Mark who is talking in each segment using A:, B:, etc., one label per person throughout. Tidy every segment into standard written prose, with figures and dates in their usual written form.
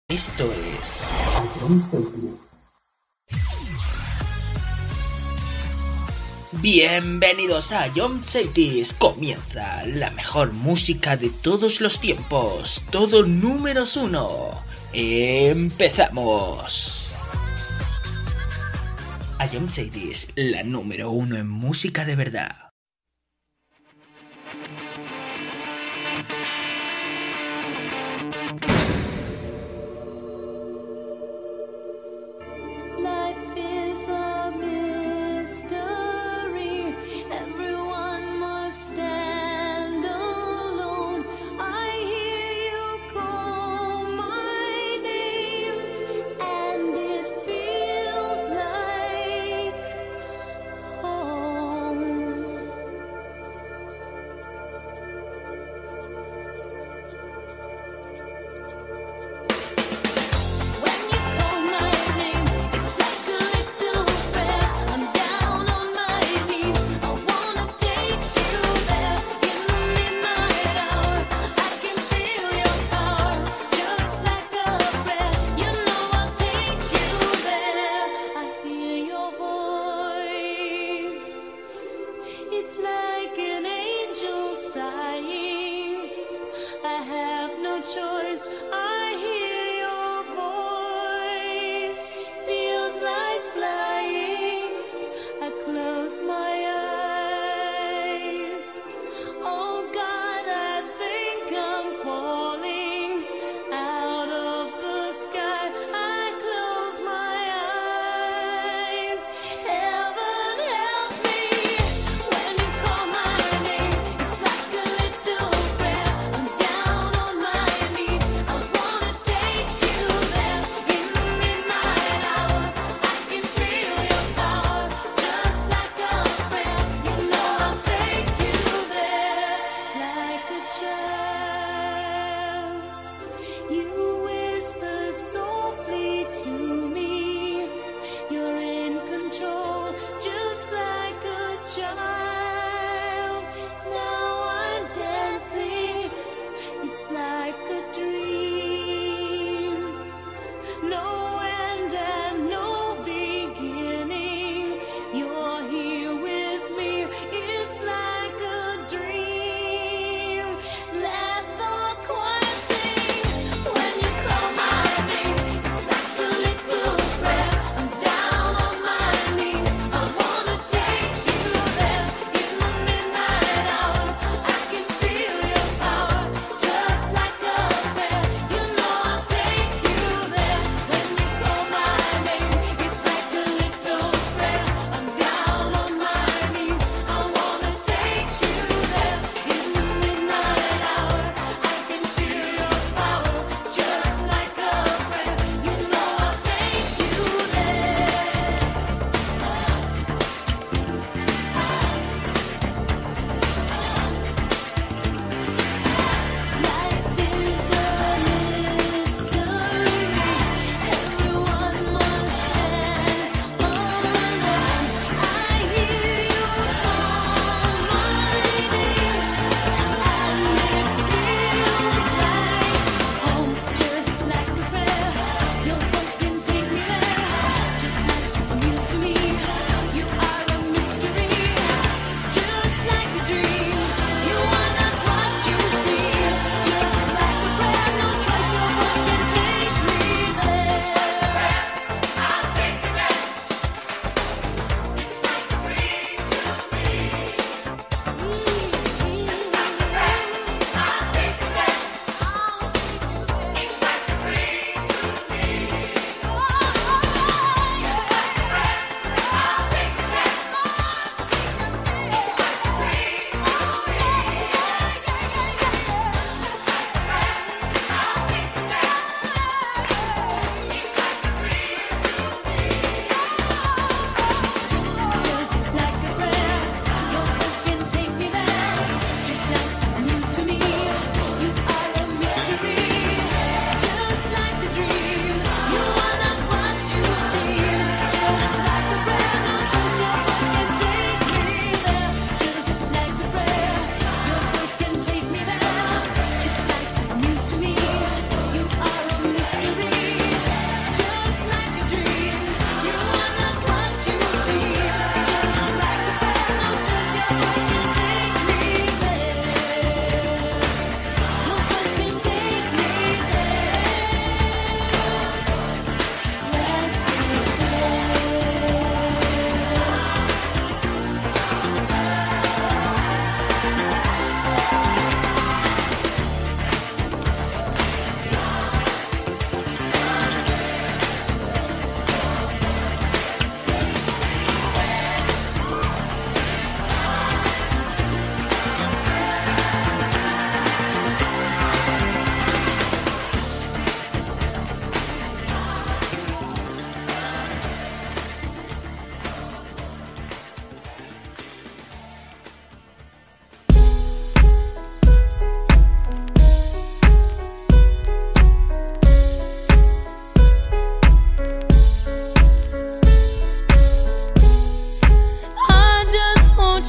A: Esto es... Bienvenidos a Jump Cities. Comienza la mejor música de todos los tiempos. Todo números 1. Empezamos. A Jump Cities, la número 1 en música de verdad.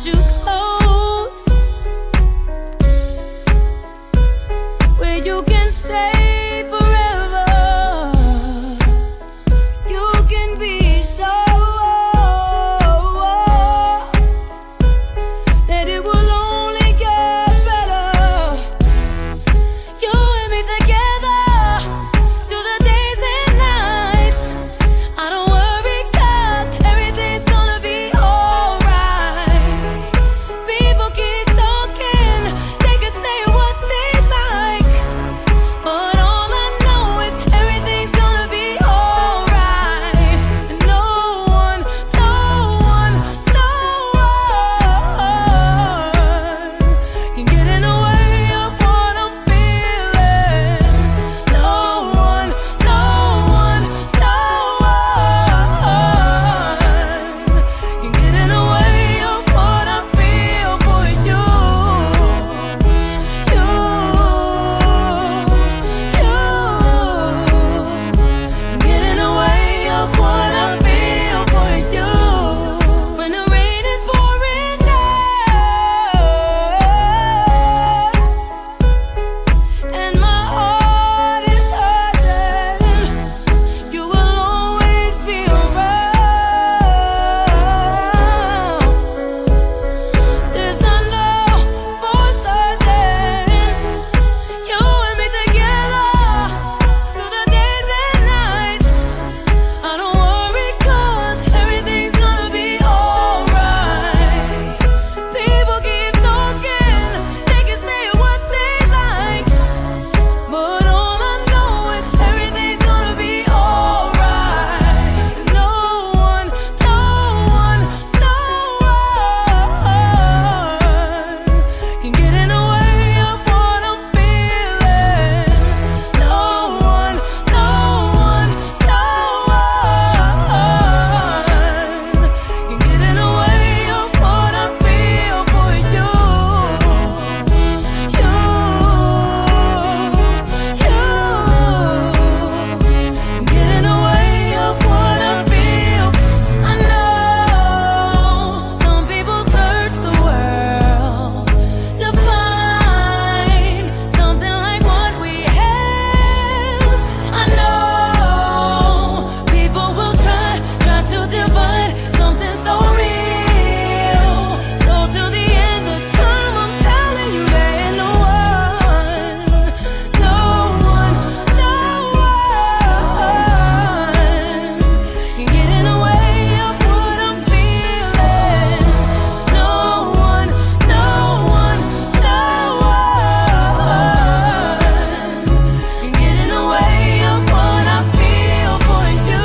B: you close, where you can stay forever. You can be so that it will only get better. You and me together through the days and nights. I don't worry 'cause everything's gonna be alright. People keep talking, they can say what they like, but all I know is everything's gonna be alright. And no one can get in the way of what I'm feeling. No one can get in the way of what I feel for you. Get in the way of what I feel for you. When the rain is pouring down and my heart is hurting, you will always be around. This I know for certain. You and me together through the days and nights. I don't worry 'cause everything's gonna be alright. People keep talking, they can say what they like, but all I know is everything's gonna be alright. No one can get in the way of what I'm feeling. No one can get in the way of what I feel for you. Get in the way of what I feel. I know some people search the world to find something like what we have. I know people will try to divide something so real. So till the end of time, I'm telling you there ain't no one can get in the way of what I'm feeling. No one can get in the way of what I feel for you.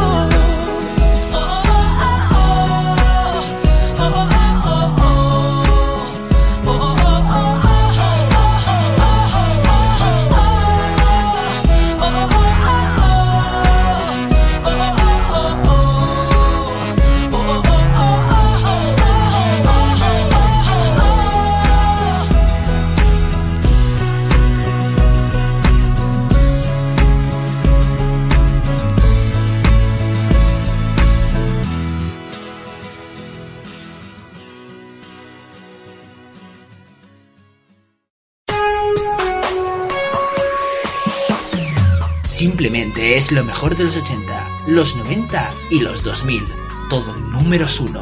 A: Simplemente es lo mejor de los 80, los 90 y los 2000. Todo números 1.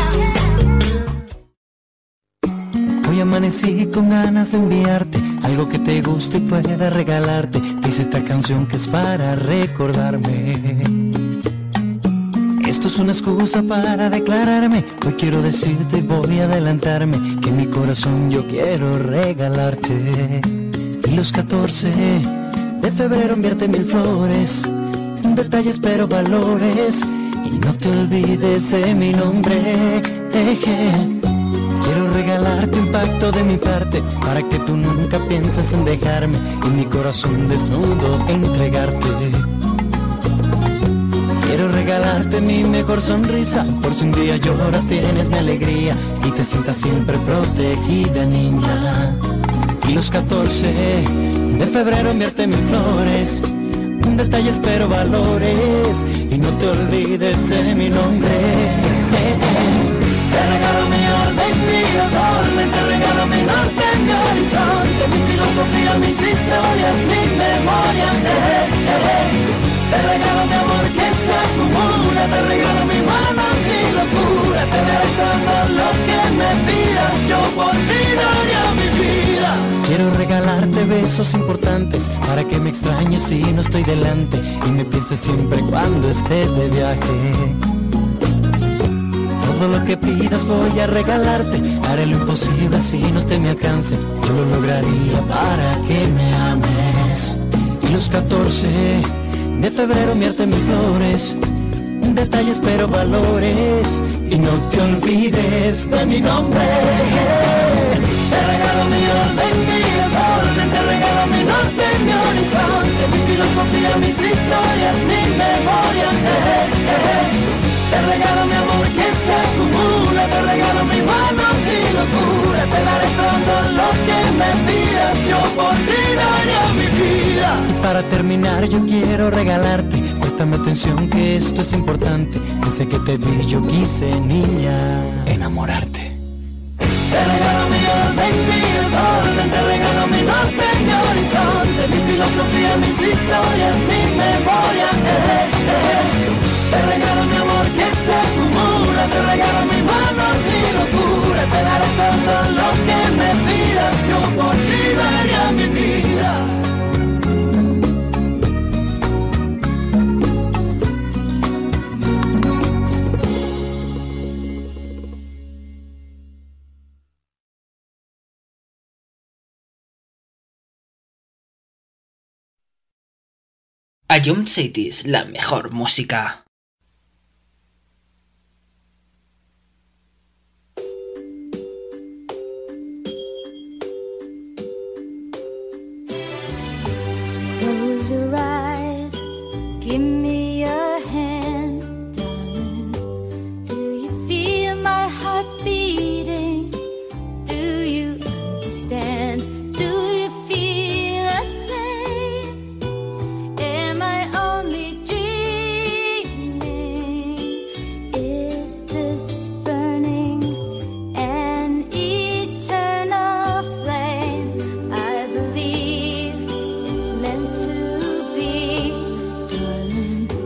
C: Hoy amanecí con ganas de enviarte algo que te guste y pueda regalarte. Dice esta canción que es para recordarme. Esto es una excusa para declararme. Hoy quiero decirte y voy a adelantarme que en mi corazón yo quiero regalarte. Y los 14 de febrero enviarte 1000 flores, detalles pero valores, y no te olvides de mi nombre. Quiero regalarte un pacto de mi parte para que tú nunca pienses en dejarme y mi corazón desnudo entregarte. Quiero regalarte mi mejor sonrisa, por si un día lloras tienes mi alegría y te sientas siempre protegida, niña. Y los 14 de febrero enviarte 1000 flores, detalles pero valores, y no te olvides de mi nombre. Te regalo mi orden, horizonte, mi filosofía, mis historias, mi memoria. Te regalo mi amor que se acumula, te regalo mi mano y locura, te daré todo lo que me pidas, yo por ti daría mi vida. Quiero regalarte besos importantes para que me extrañes si no estoy delante y me pienses siempre cuando estés de viaje. Todo lo que pidas voy a regalarte, haré lo imposible así no esté a mi alcance, yo lo lograría para que me ames. Y los 14 de febrero enviarte mis flores, detalles pero valores, y no te olvides de mi nombre. Te regalo mi orden, mi desorden, te regalo mi norte, mi horizonte, mi filosofía, mis historias, mi memoria. Te regalo mi amor que se acumula, te regalo mi mano y locura, te daré todo lo que me pidas, yo por ti daría mi vida. Y para terminar yo quiero regalarte, préstame atención que esto es importante, desde que te vi yo quise, niña, enamorarte. Te regalo mi orden, mi desorden, te regalo mi norte, mi horizonte, mi filosofía, mis historias, mi memoria. Te regalo mi amor que se acumula, te regalo mi mano y locura, te daré todo lo que me pidas, yo por ti daría mi vida.
A: Ion Cities, la mejor música.
B: Close your eyes, give me your hand, darling. Do you feel my heart beating? Do you understand? Do you feel the same? Am I only dreaming? Is this burning an eternal flame? I believe it's meant to be, darling.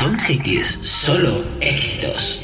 A: Drum Cities, solo éxitos.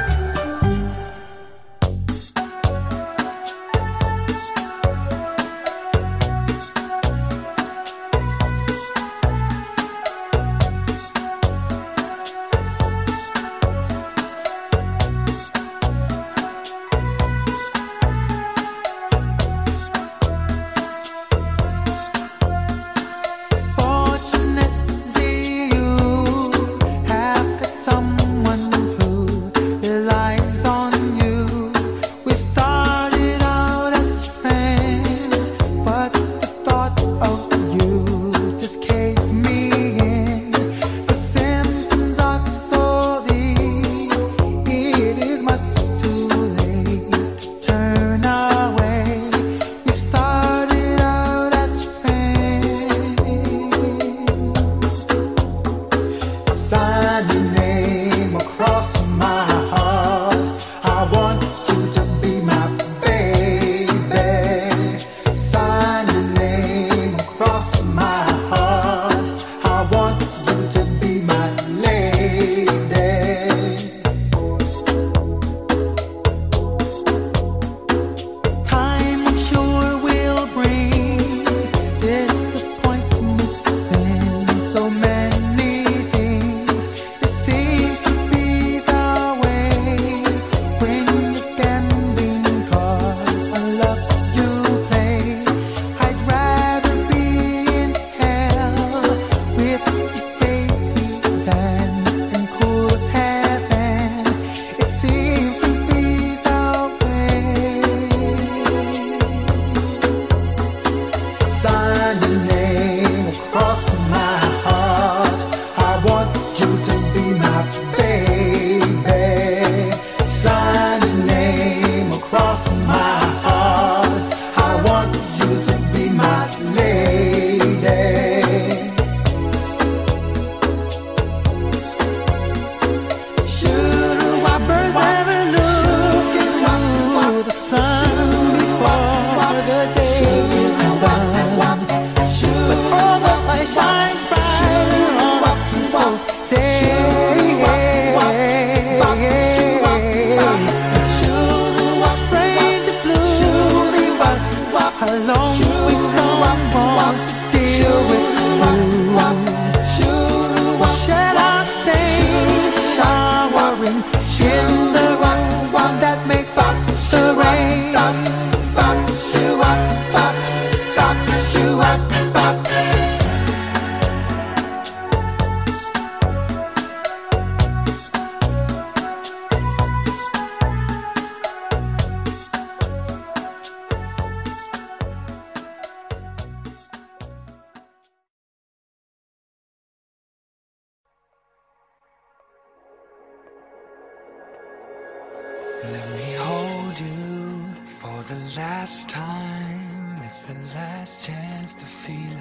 C: Let me hold you for the last time. It's the last chance to feel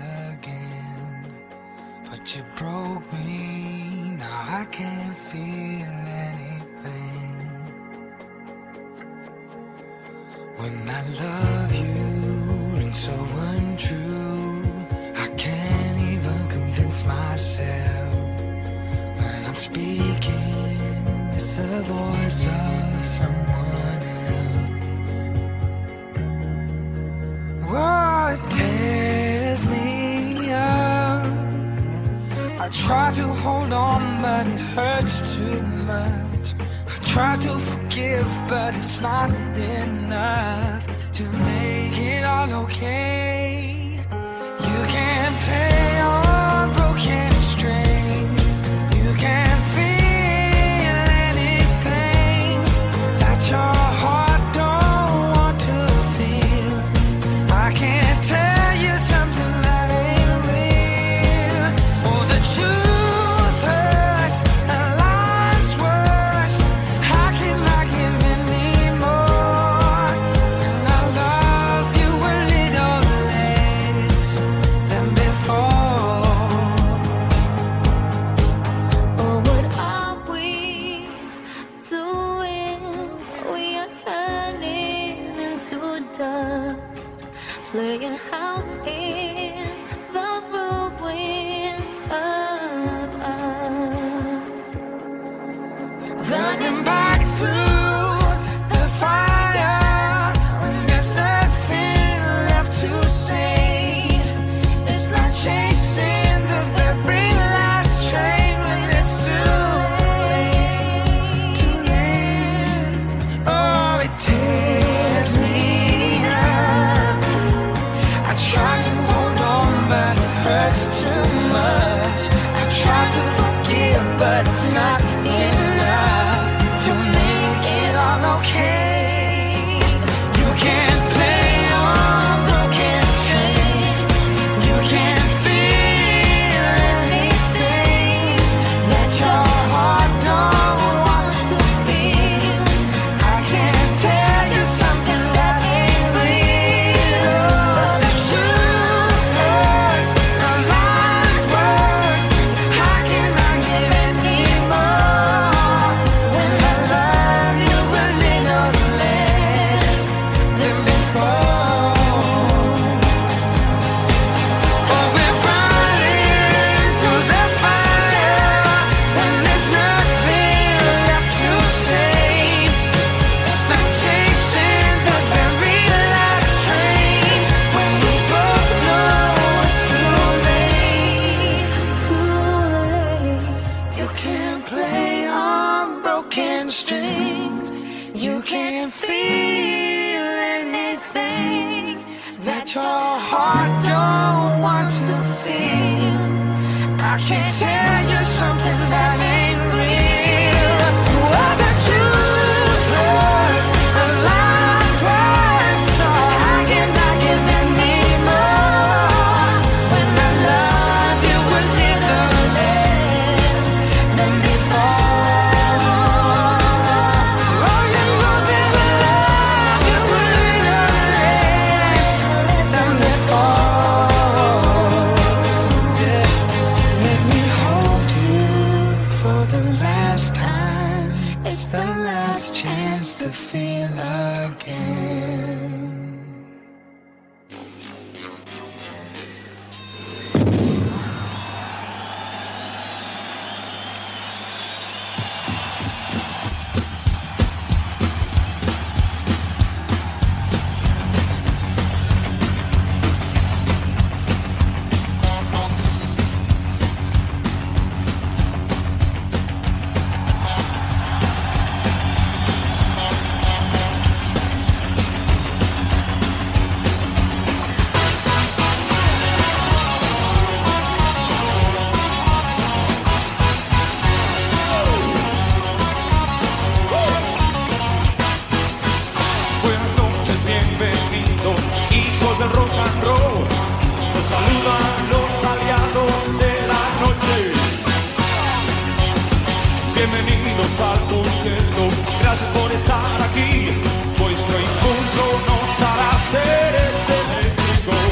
C: again. But you broke me, now I can't feel anything. When I love you rings so untrue, I can't even convince myself. When I'm speaking, it's the voice of someone else. Oh, it tears me up. I try to hold on, but it hurts too much. I try to forgive, but it's not enough to make it all okay. You can't play on broken strings. You can't feel anything that your heart don't want to feel. I can't tell you something that ain't real. Oh, the truth hurts and life's worse. How can I give any more? And I love you a little less than before.
B: Oh, what are we doing? We are turning into dust, playing house in the ruins of us.
C: running back through the fire when there's nothing left to save. It's like chasing the very last train when it's too late. Oh, it tears me up. I try to hold on, but it hurts too much. I try to forgive, but it's not enough to make it all okay. You can't play on broken strings. You can't feel anything that your heart don't want to feel. I can't tell you something that ain't real. The truth hurts, the lies worse. How can I give any more when I love you a little less than before? Oh, we're running through the fire when there's nothing left to save. It's like chasing the very last train when we both know it's too late. Too late. You can't play on broken strings. You can't feel anything that your heart don't want to feel. I can't tell you something that ain't real. Oh, the truth hurts, the lies worse. So how can I give any more when I love you a little less than before? Oh, you know that I love you a little less than before. Yeah. Let me hold you for the last time. It's the last chance to feel again.
D: Buenas noches, bienvenidos, hijos del rock and roll. Los saludan los aliados de la noche. Bienvenidos al concierto, gracias por estar aquí. Vuestro impulso nos hará seres eléctricos.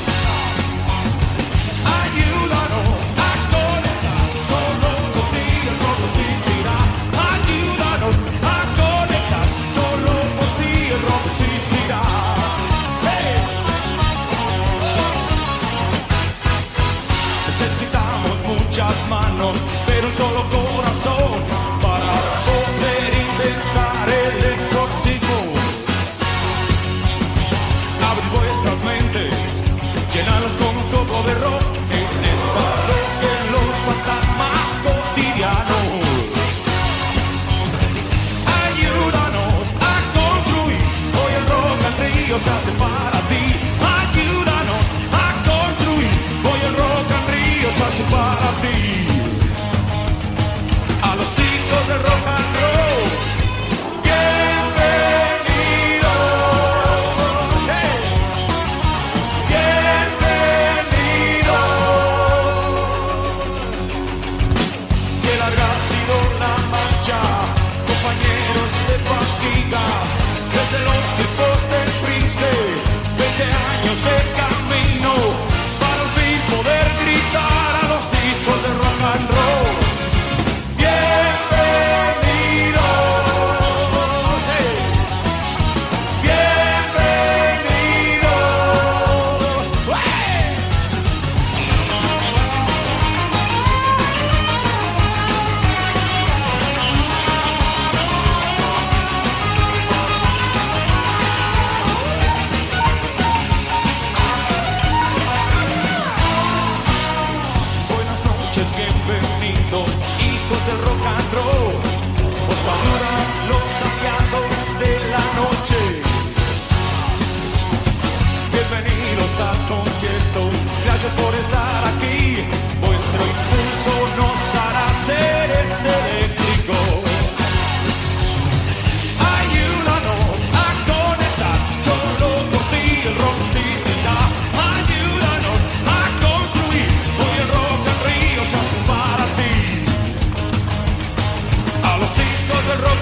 D: Ayúdanos a conectar, solo contigo el rock existirá. Ayúdanos a conectar, solo por ti el rock existirá. Hey. Necesitamos muchas manos, pero un solo corazón para poder intentar el exorcismo. Abrid vuestras mentes, llenadlas con un soplo de rock que desalojen los fantasmas cotidianos. Ayúdanos a construir, hoy el rock and río se hace para ti. Ayúdanos a construir, hoy el rock and río se hace para ti. A los hijos del rock and roll, bienvenidos. Hey. Bienvenidos. Qué larga ha sido la marcha, compañeros de fatigas, desde los tiempos del freeze.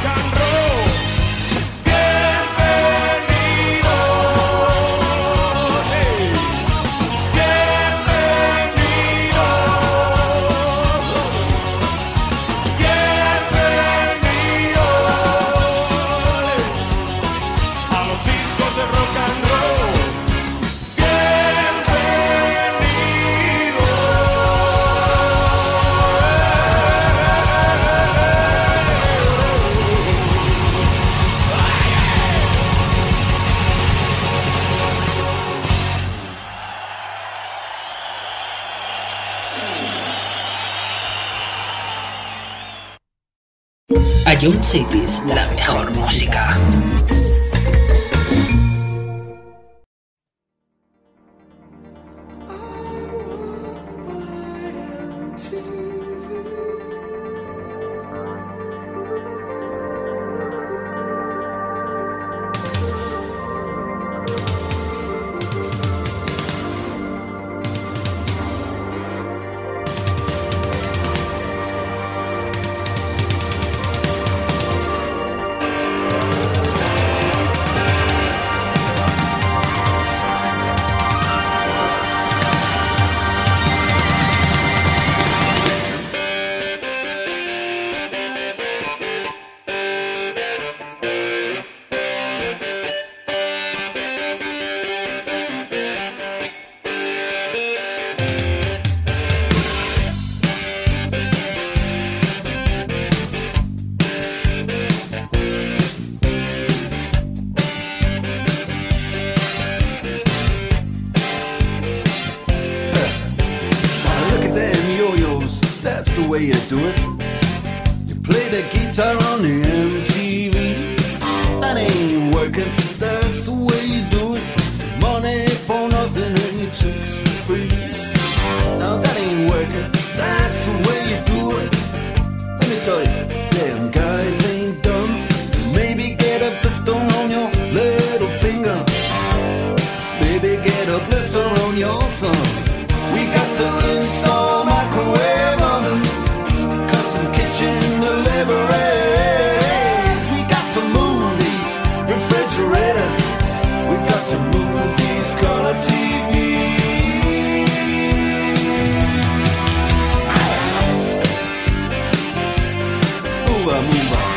D: rock and roll. Bienvenido, hey, bienvenido, bienvenido a los circos de rock and roll.
A: Ion Cities, la mejor música.
E: way you do it. You play the guitar on the MTV. That ain't working, that's the way you do it. Money for nothing and your chicks for free. Now that ain't working, that's the way you do it. Let me tell you, damn guys ain't dumb. Maybe get a blister on your little finger. Maybe get a blister on your thumb. We got to install microwave ovens, custom kitchen deliveries. We got to move these refrigerators. We got to move these color TVs. Move on, move on.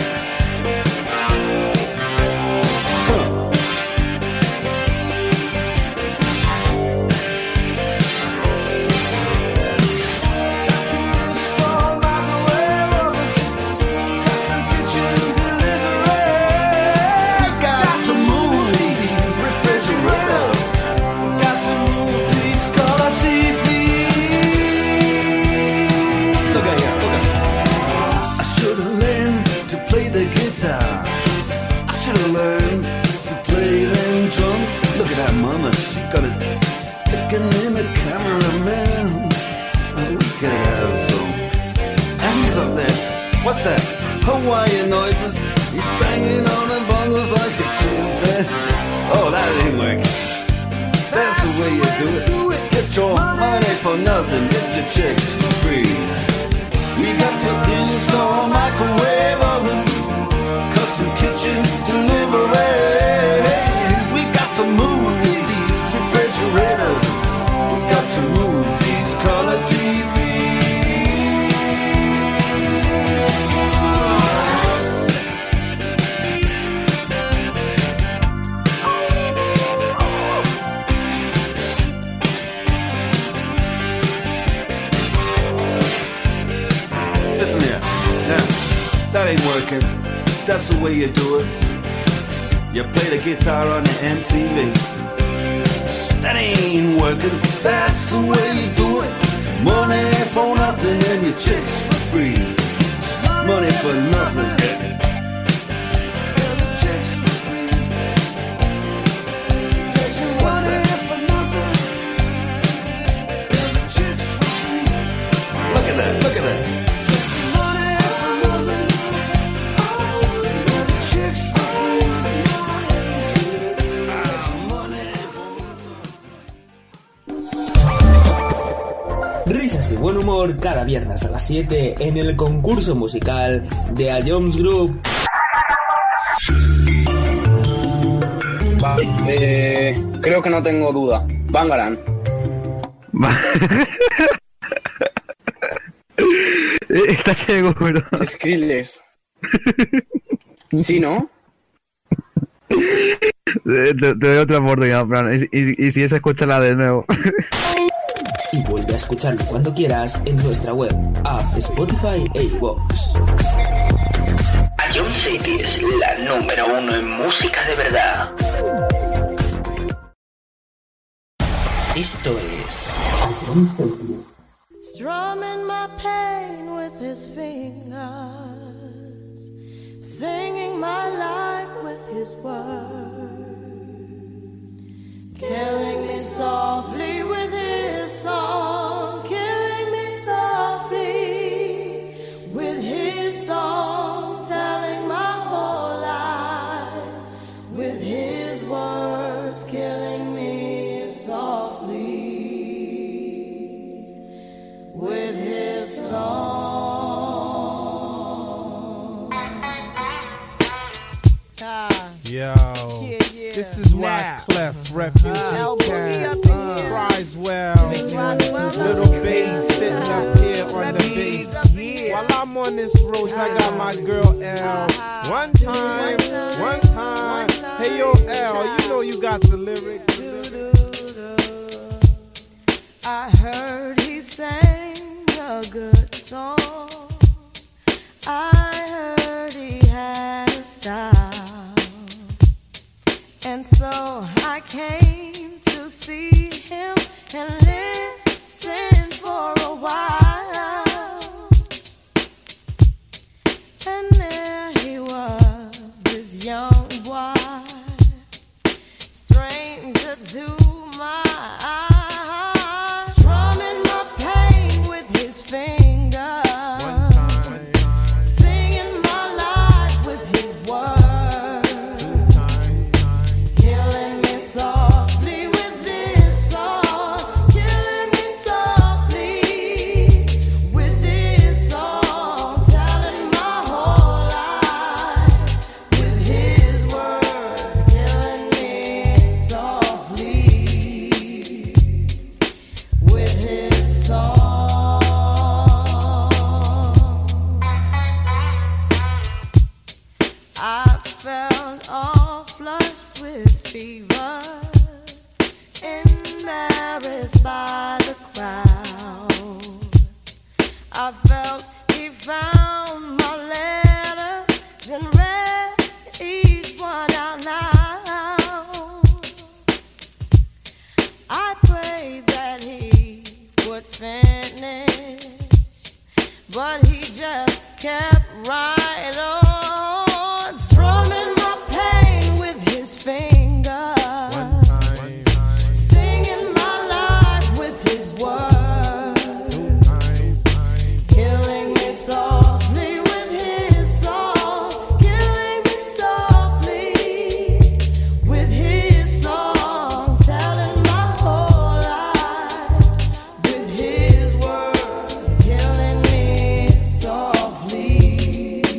E: Mama, she got it sticking in the cameraman. Oh, we could have some. And he's up there. What's that? Hawaiian noises. He's banging on the bongos like a chimpanzee. Oh, that ain't working. That's the way you do it. Get your money for nothing. Get your chicks for free. We got to install microwave oven, custom kitchen deliveries. We got to move refrigerators. We got to move these color TVs. Listen here, now, that ain't working. That's the way you do it. You play the guitar on the MTV. That ain't working, that's the way you do it. Money for nothing and your chicks for free. Money for nothing and your chicks for free. What's that? For nothing and your chicks for free. Look at that, look at that. Money for nothing and your chicks for free.
F: Risas y buenos buen humor cada viernes a las 7 en el concurso musical de A Jones Group.
G: Creo que no tengo duda. Bangarang.
H: ¿Estás seguro?
G: Skrillex. ¿Sí, no?
H: Te doy otra oportunidad, Fran. Y si es, escúchala de nuevo.
F: Y vuelve a escucharlo cuando quieras en nuestra web, app, Spotify e iVoox.
A: Ion City es la número 1 en música de verdad. Esto es
B: Strumming my pain with his fingers, singing my life with his words, killing me softly with his song, killing me softly with his song, telling my whole life with his words, killing me softly with his song.
D: Yo, this is why Clef Refugee Cat Criswell, little bass sitting up here on the bass. While I'm on this road, I got my girl L. One time, hey yo L, you know you got the lyrics.
B: I heard he sang a good song. I heard he had a style. And so I came to see him and listen for a while. And there he was, this young boy, stranger to my eyes, strumming my pain with his fingers, singing my life with his words, killing me softly with this song, killing me softly with this song, telling my whole life with his words, killing me softly with his song. I felt all flushed with fever, embarrassed by the crowd. I felt he found my letters and read each one out loud. I prayed that he would finish, but he just kept right on, strumming my pain with his fingers, singing my life with his words, killing me softly with his song, killing me softly with his song, telling my whole life with his words, killing me softly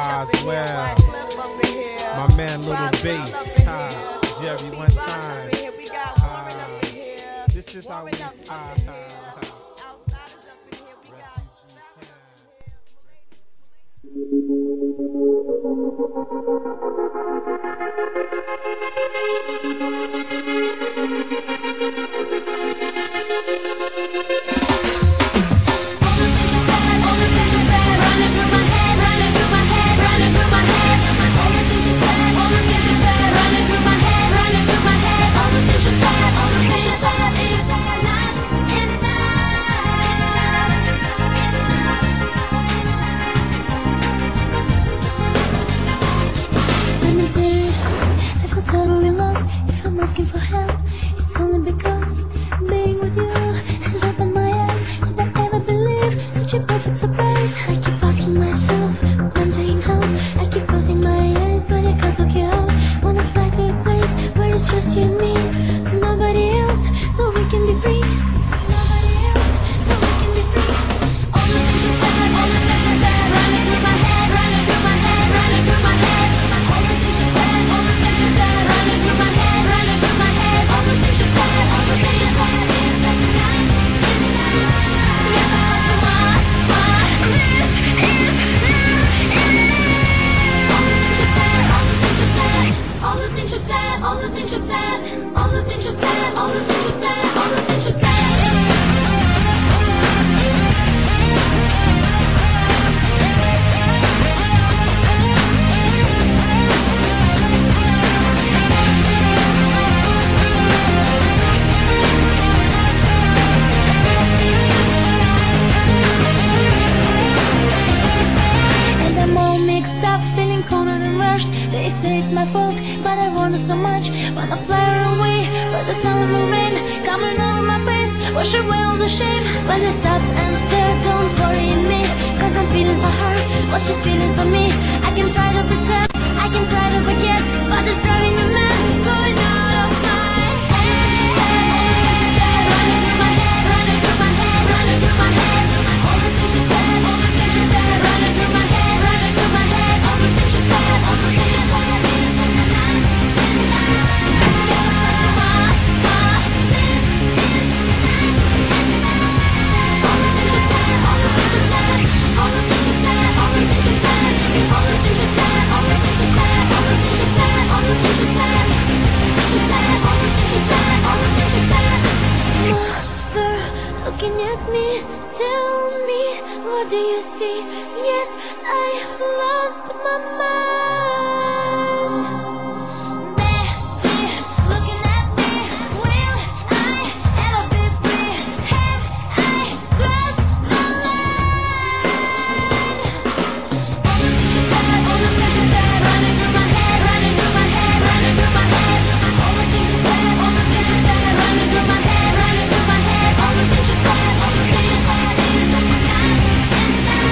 I: as well. My man Little Bass, Jerry one time. This is how we
B: totally lost. If I'm asking for help, it's only because being with you has opened my eyes. Could I ever believe such a perfect surprise? I keep asking myself, wondering how. I keep closing my eyes, but I can't look you out. Wanna fly to a place where it's just you and me, nobody else, so we can be free. Nobody else, so we can be free. All the things you said, all the things you said, running through my head, running through my head, running through my head. All the things you said, all the things you said, running through my head, running through my head. All the things you said, all the things you said, is like a night, yeah, this is all the things you said, all the things you said, all the things you said, all the things you said, all the things you said. And I'm all mixed up, feeling cornered and rushed. They say it's my fault, but I wonder so much. Wanna fly away, but the sun and the rain coming over my face, wash away all the shame. When I stop and stare, don't worry me, cause I'm feeling for her what she's feeling for me. I can try to pretend, I can try to forget, but it's driving me mad, going out of my head. Running through my head, running through my head, running through my head. All the things you said, all the things you said, running through my head, running through my head. All the things you said, all the things you said. Looking at me, tell me, what do you see? Yes, I lost my mind. Betty, looking at me, will I ever be free? Have I crossed the line? All the things you said, all the things you said, running through my head, running through my head, running through my head. All the things you said, all the things you said, running through my head, running through my head. All the things you said, all the things you said, is like a night and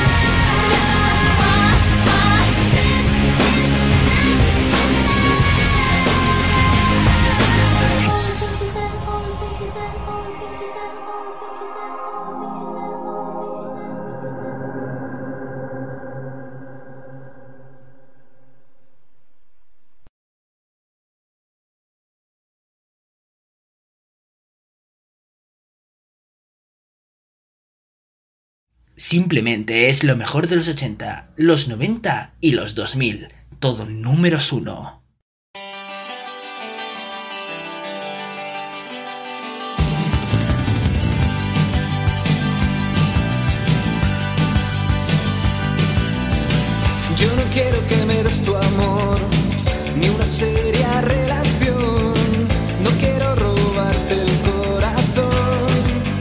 A: Simplemente es lo mejor de los 80, los 90 y los 2000. Todo números 1.
C: Yo no quiero que me des tu amor, ni una seria relación. No quiero robarte el corazón.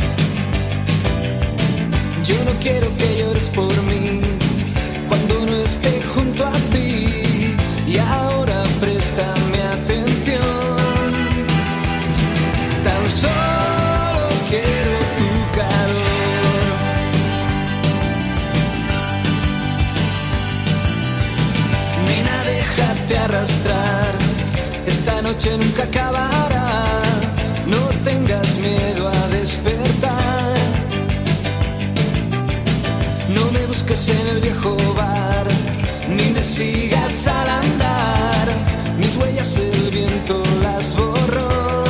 C: Yo no quiero que llores por mí cuando no esté junto a ti. Y ahora préstame atención. Tan solo quiero tu calor. Nena, déjate arrastrar. Esta noche nunca acabará. No tengas miedo a despertar. No me busques en el viejo bar, ni me sigas al andar, mis huellas el viento las borró.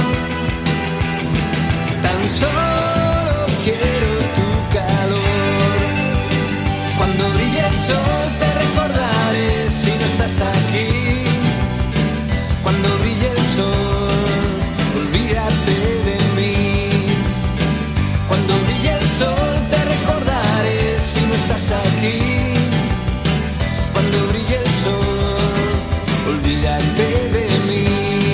C: Tan solo quiero tu calor. Cuando brille el sol te recordaré si no estás aquí. Cuando brille el sol, olvídate de mí. Cuando brille el sol te recordaré si no estás aquí. Cuando brille el sol, olvídate de mí.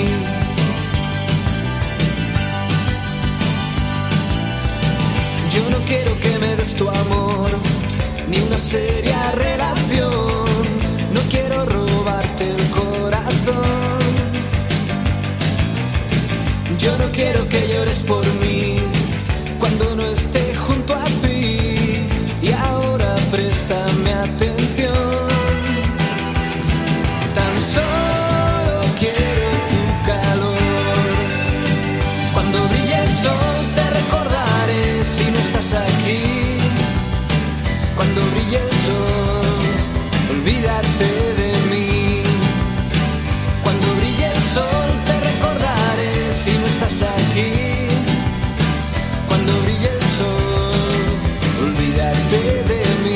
C: Yo no quiero que me des tu amor, ni una seria relación. No quiero robarte el corazón. Yo no quiero que llores por mí cuando no esté junto a ti. Y ahora préstame atención. Tan solo quiero tu calor. Cuando brille el sol te recordaré si no estás aquí. Cuando brille el sol, olvídate de mí. Cuando brille el sol te recordaré si no estás aquí. Cuando brille el sol, olvídate de mí.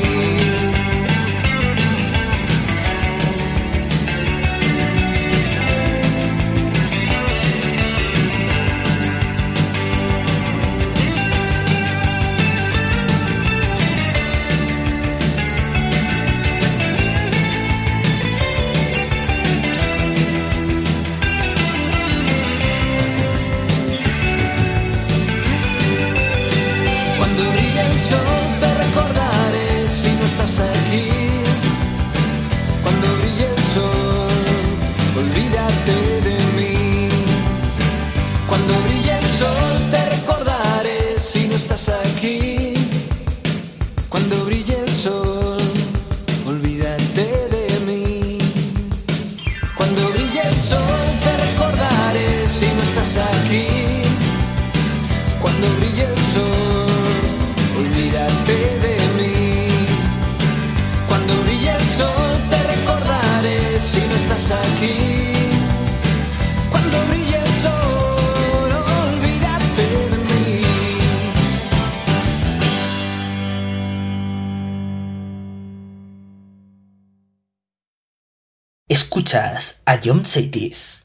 C: Cuando brille el sol te recordaré si no estás aquí. Cuando brille el sol, olvídate de mí. Cuando brille el sol te recordaré si no estás aquí. Cuando brille el sol, olvídate de mí. Cuando brille el sol te recordaré si no estás aquí. Cuando brille el sol, olvídate de mí. Cuando brille el sol te recordaré si no estás aquí. Cuando brille el sol, olvídate de mí.
A: Escuchas a John Saitis.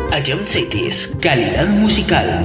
A: Ion Cities, calidad musical.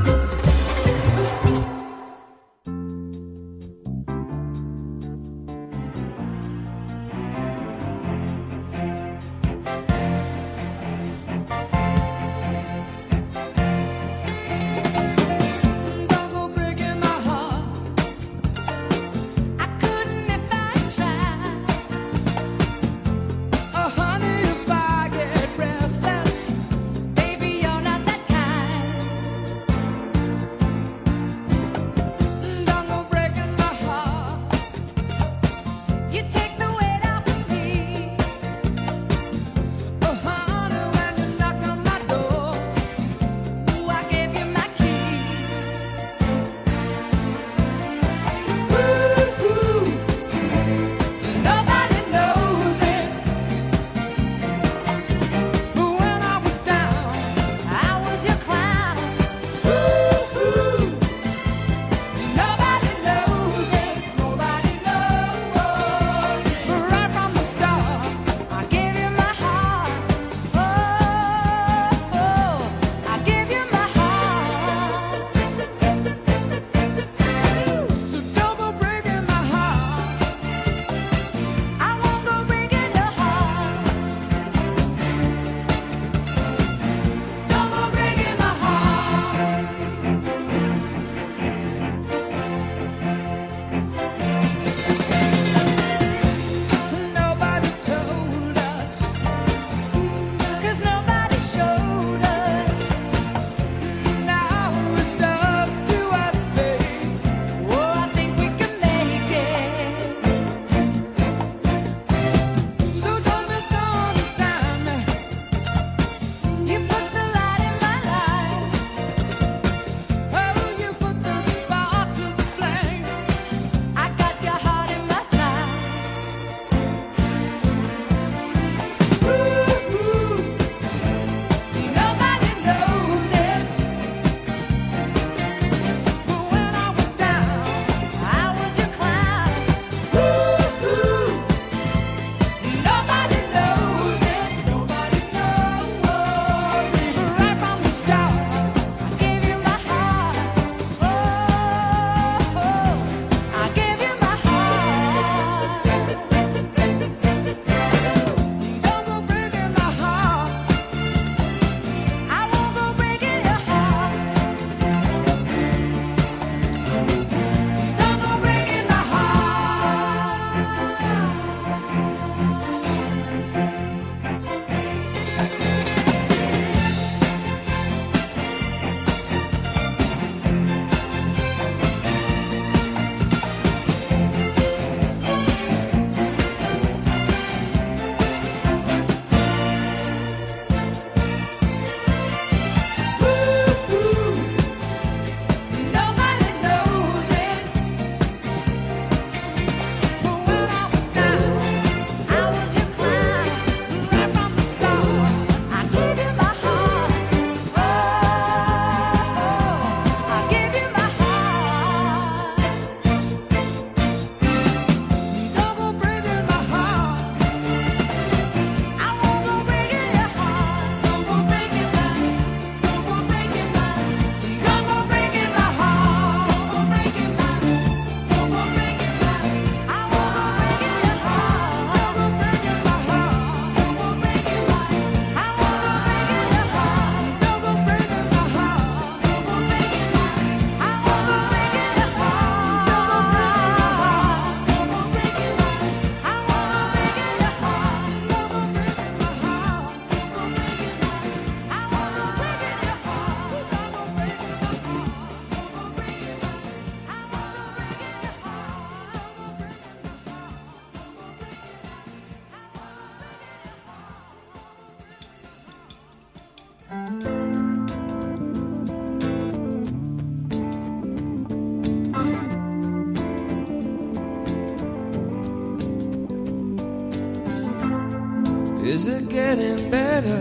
J: Is it getting better?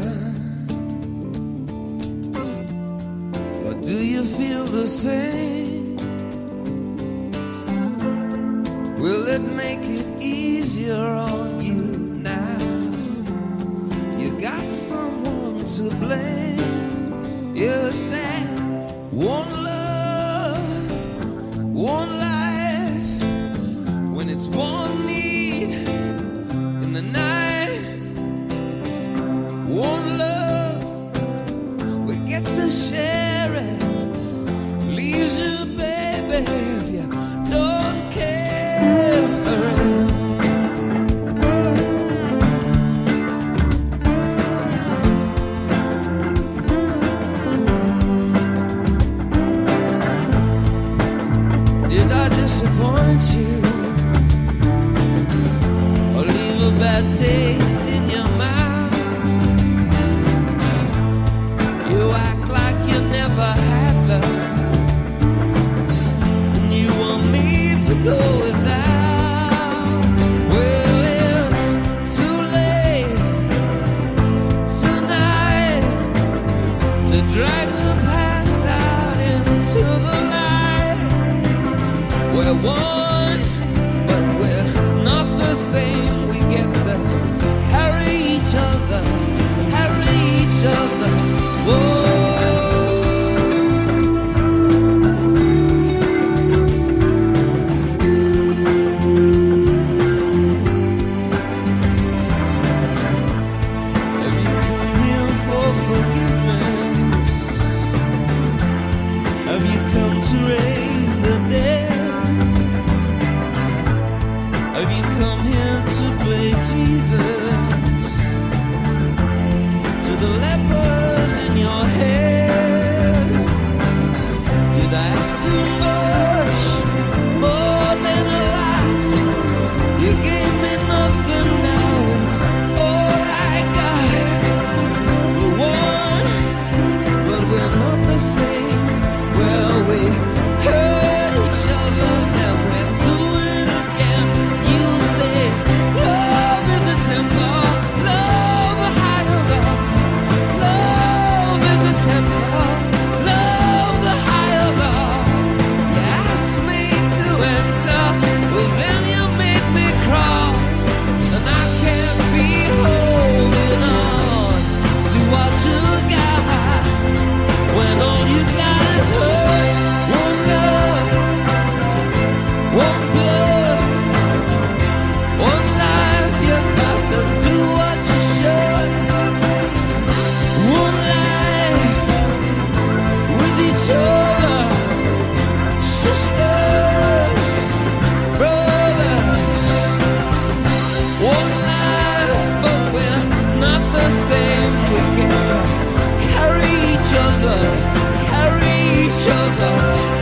J: Or do you feel the same? Will it make it easier on you now? You got someone to blame. You said one love, one life, when it's one need in the night, one love, we get to share it. Leaves you, baby, if you don't care for it. Did I disappoint you or leave a bad taste in your mouth? You act like you never had love, and you want me to go without. Well, it's too late tonight to drag the past out into the light. We're one, but we're not the same. We get to carry each other, carry each other. Whoa. Have you come here for forgiveness? Have you come to raise the dead? Have you come here to play Jesus to the lepers in your head? Did I ask too much, more than a lot? You gave me nothing, now it's all I got. We're one, but we're not the same. Well, we hurt each other, now we're doing it again. You say love is a temple, love a higher love. Love is a temple, love the higher love. You asked me to enter, well then you made me crawl, and I can't be holding on to what you got when all you got is hurt. One love, one blood, one life. You got to do what you should. One life with each other, sisters, brothers. One life, but we're not the same. We get to carry each other, carry each other.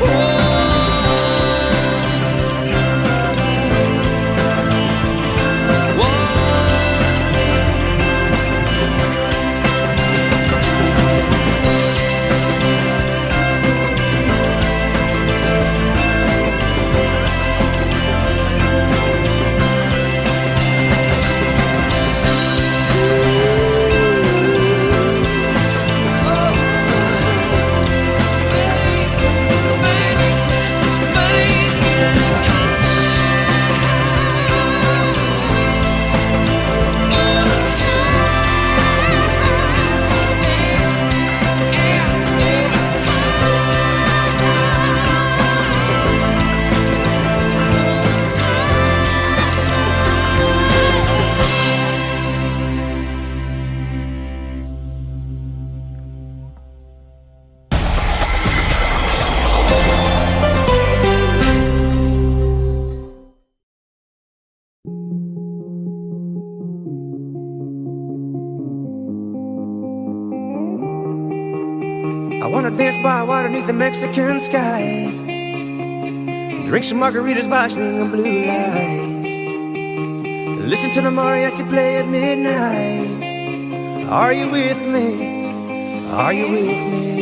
K: I wanna dance by water beneath the Mexican sky, drink some margaritas by swinging blue lights, listen to the mariachi play at midnight. Are you with me? Are you with me?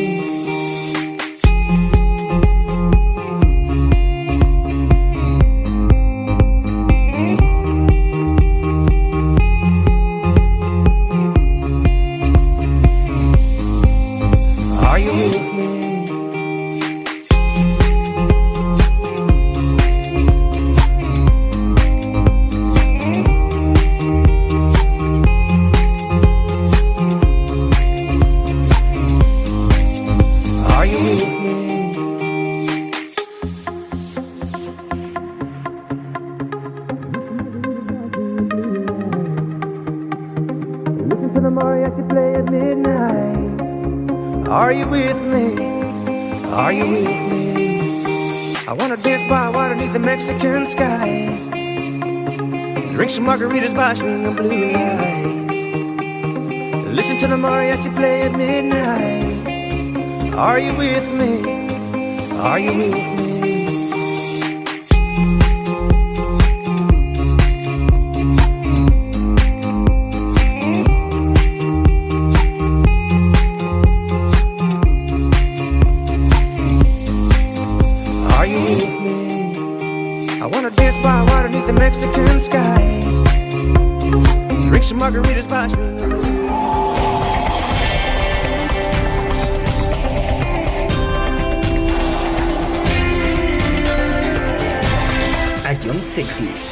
K: Are you with me? mariachi play at midnight. Are you with me? Are you with me? I wanna dance by water beneath the Mexican sky. Drink some margaritas by swinging blue lights. Listen to the mariachi play at midnight. Are you with me? Are you with me? Are you with me? I wanna dance by water beneath the Mexican sky. Drink some margaritas by swinging.
A: A John Sectis.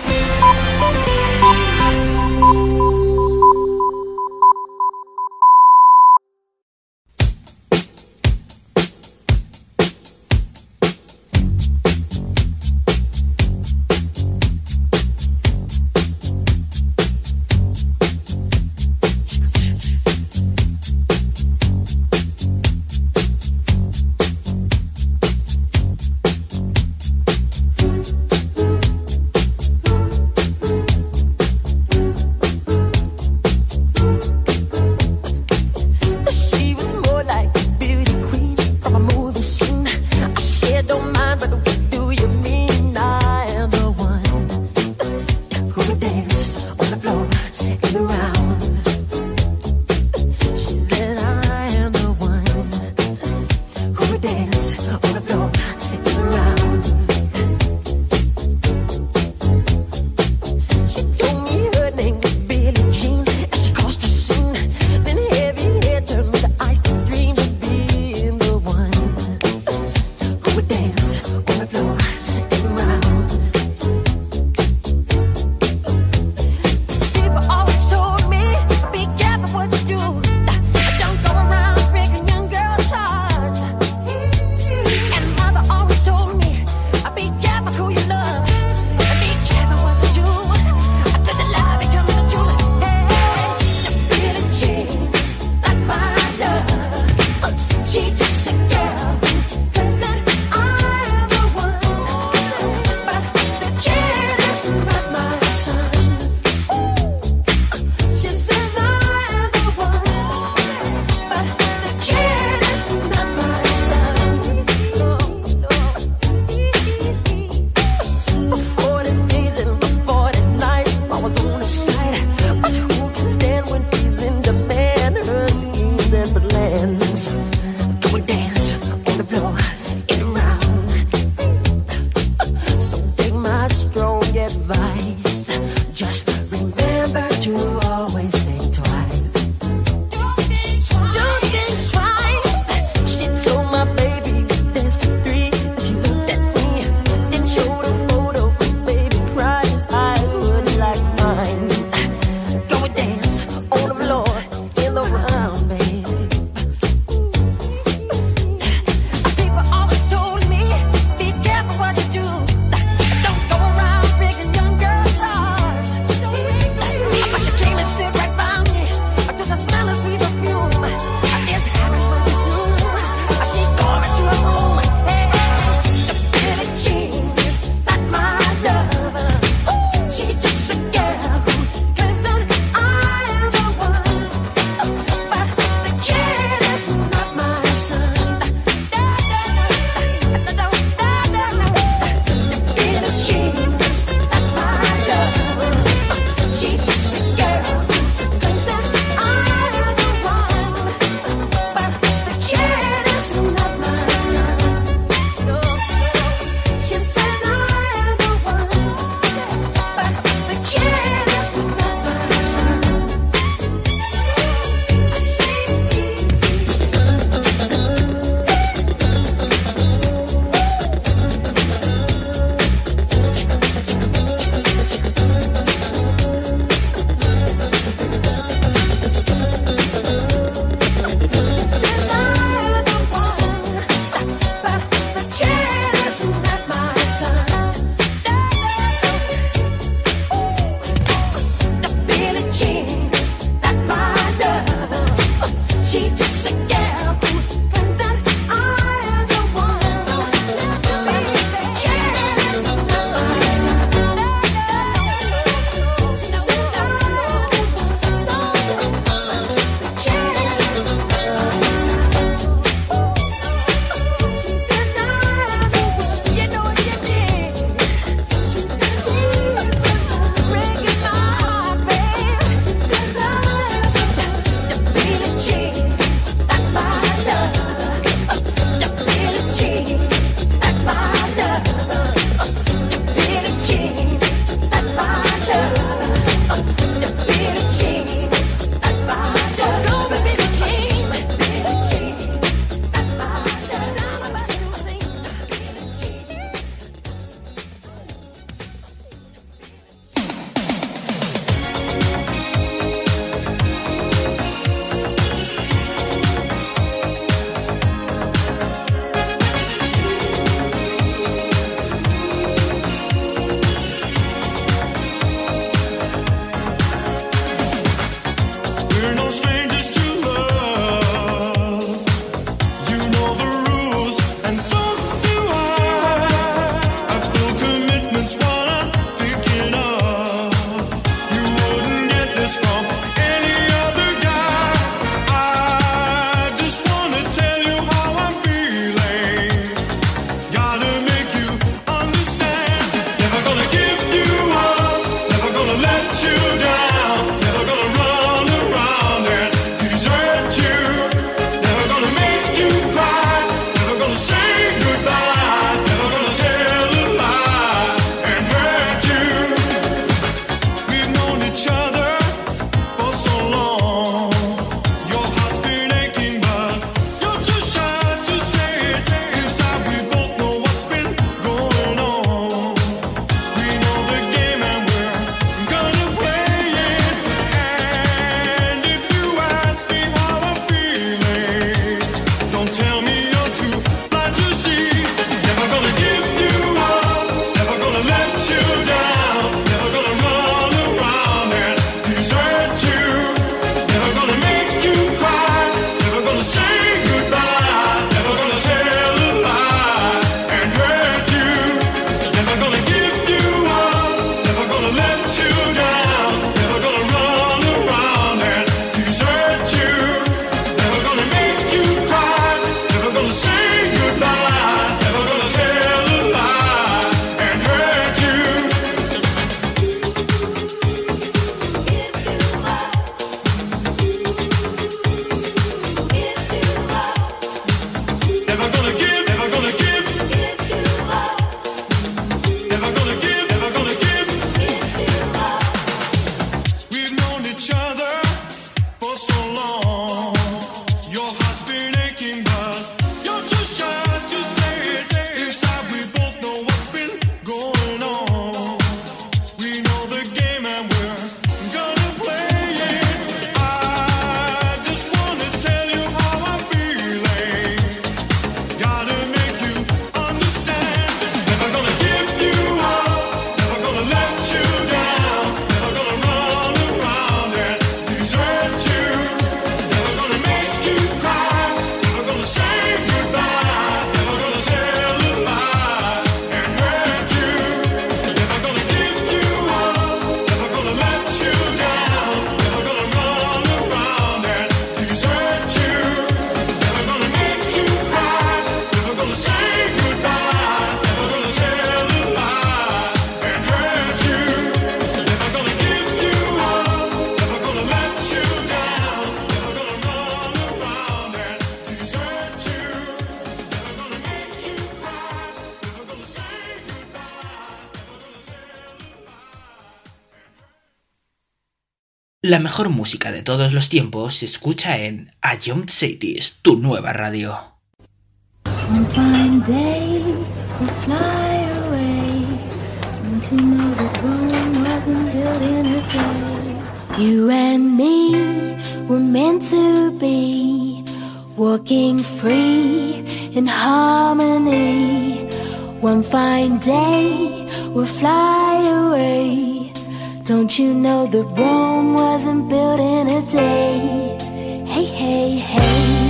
A: La mejor música de todos los tiempos se escucha en A Young Cities, tu nueva radio.
B: One fine day we'll fly away. Don't you know that Rome wasn't built in a day? You and me were meant to be, walking free in harmony. One fine day we'll fly away. Don't you know that Rome wasn't built in a day? Hey, hey, hey.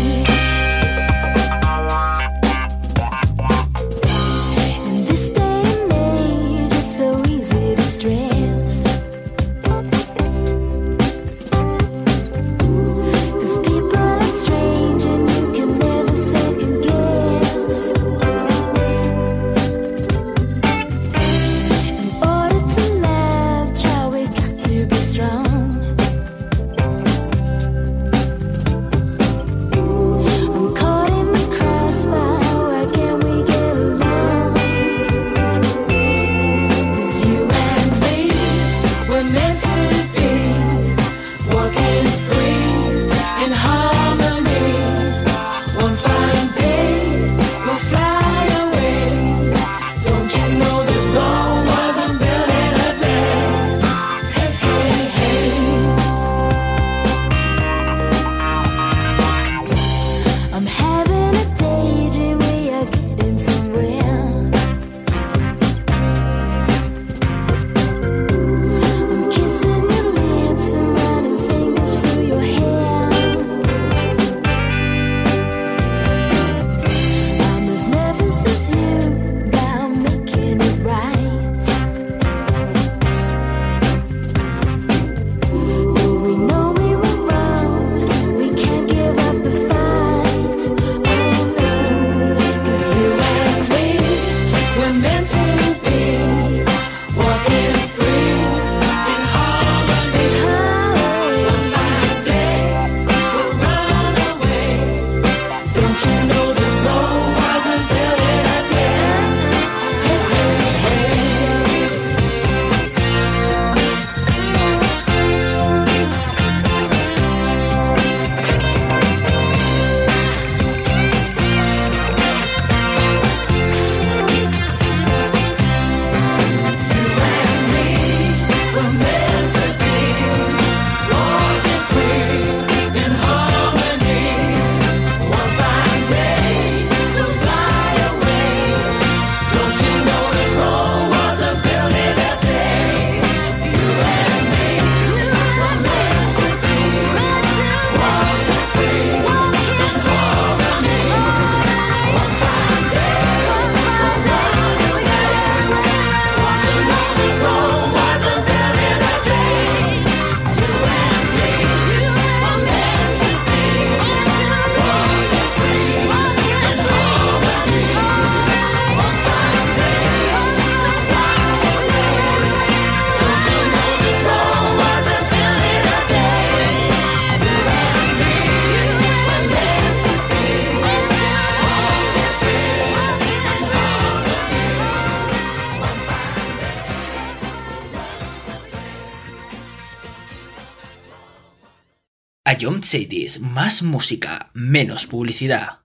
A: A Young Cities, más música, menos publicidad.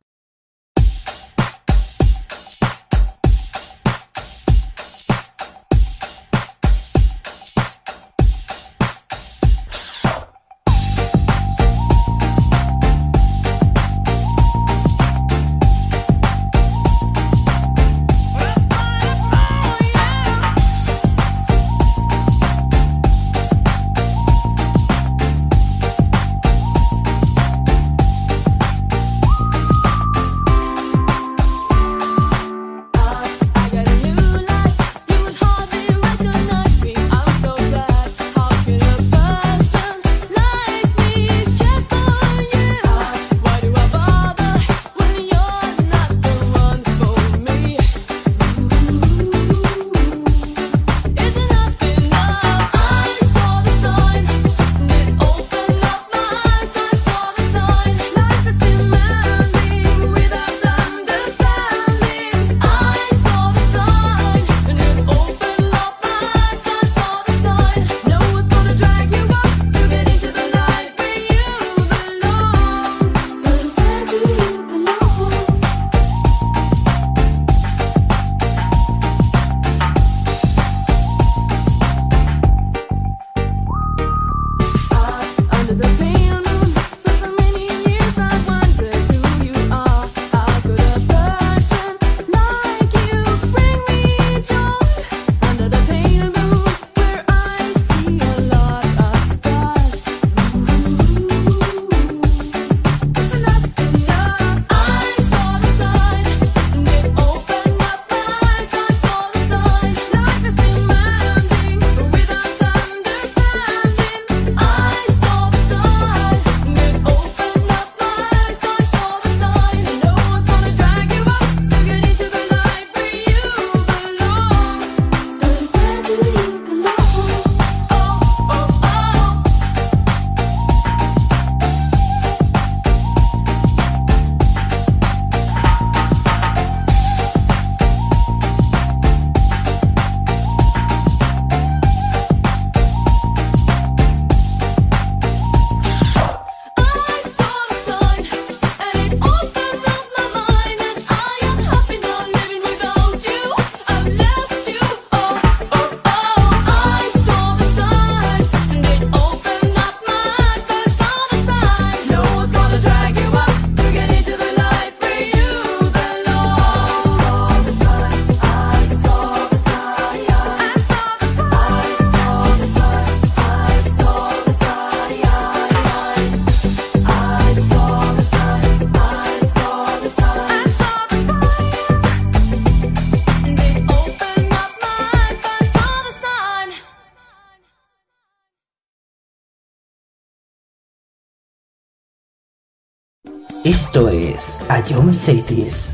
A: Esto es A John Cities.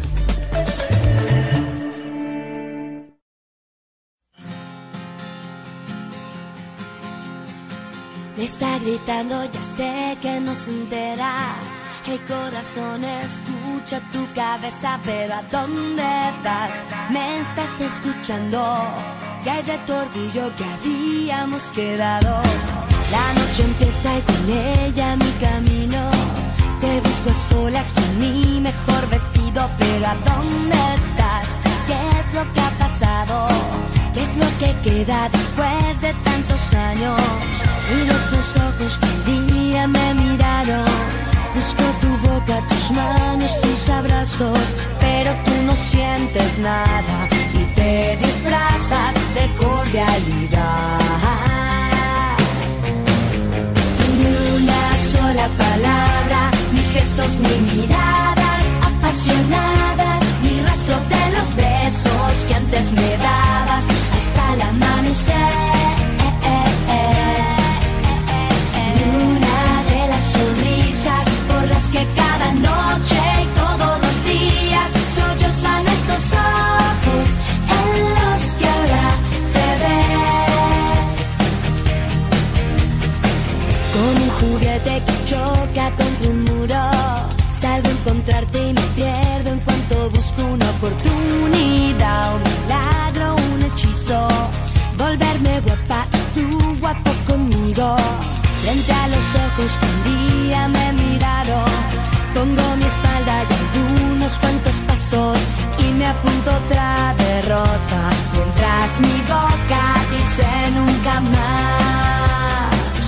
B: Me está gritando, ya sé que no se entera. El corazón escucha tu cabeza, pero ¿a dónde vas? Me estás escuchando. ¿Qué hay de tu orgullo que habíamos quedado? La noche empieza y con ella mi camino. Te busco a solas con mi mejor vestido, pero ¿a dónde estás? ¿Qué es lo que ha pasado? ¿Qué es lo que queda después de tantos años? Miro esos ojos que un día me miraron. Busco tu boca, tus manos, tus abrazos, pero tú no sientes nada y te disfrazas de cordialidad. Ni una sola palabra, ni gestos, ni miradas apasionadas, ni rastro de los besos que antes me dabas hasta el amanecer. Ni una de las sonrisas por las que cada noche y todos los días sollozan estos ojos en los que ahora te ves. Con un juguete que choca contra un muro, salgo a encontrarte y me pierdo en cuanto busco una oportunidad, un milagro, un hechizo, volverme guapa y tú guapo conmigo. Frente a los ojos que un día me miraron, pongo mi espalda y algunos cuantos pasos y me apunto otra derrota. Mientras mi boca dice nunca más.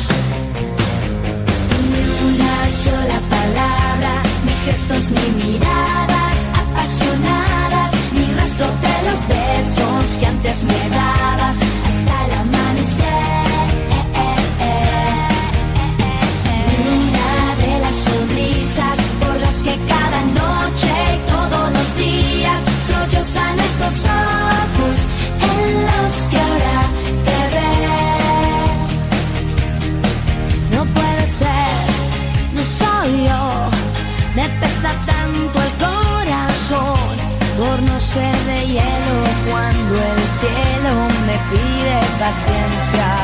B: Ni una sola palabra, ni gestos, ni miradas apasionadas, ni rastro de los besos que antes me dabas hasta el amanecer. Sonrisas por las que cada noche y todos los días sollozan estos ojos en los que ahora te ves. No puede ser, no soy yo, me pesa tanto el corazón por no ser de hielo cuando el cielo me pide paciencia.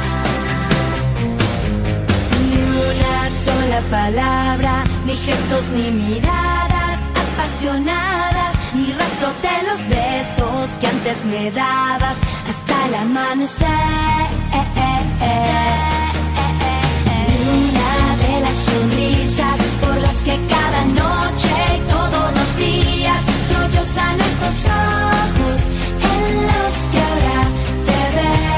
B: Sola palabra, ni gestos, ni miradas apasionadas, ni rastro de los besos que antes me dabas hasta el amanecer. Ni una de las sonrisas por las que cada noche y todos los días sollozan estos ojos en los que ahora te ves.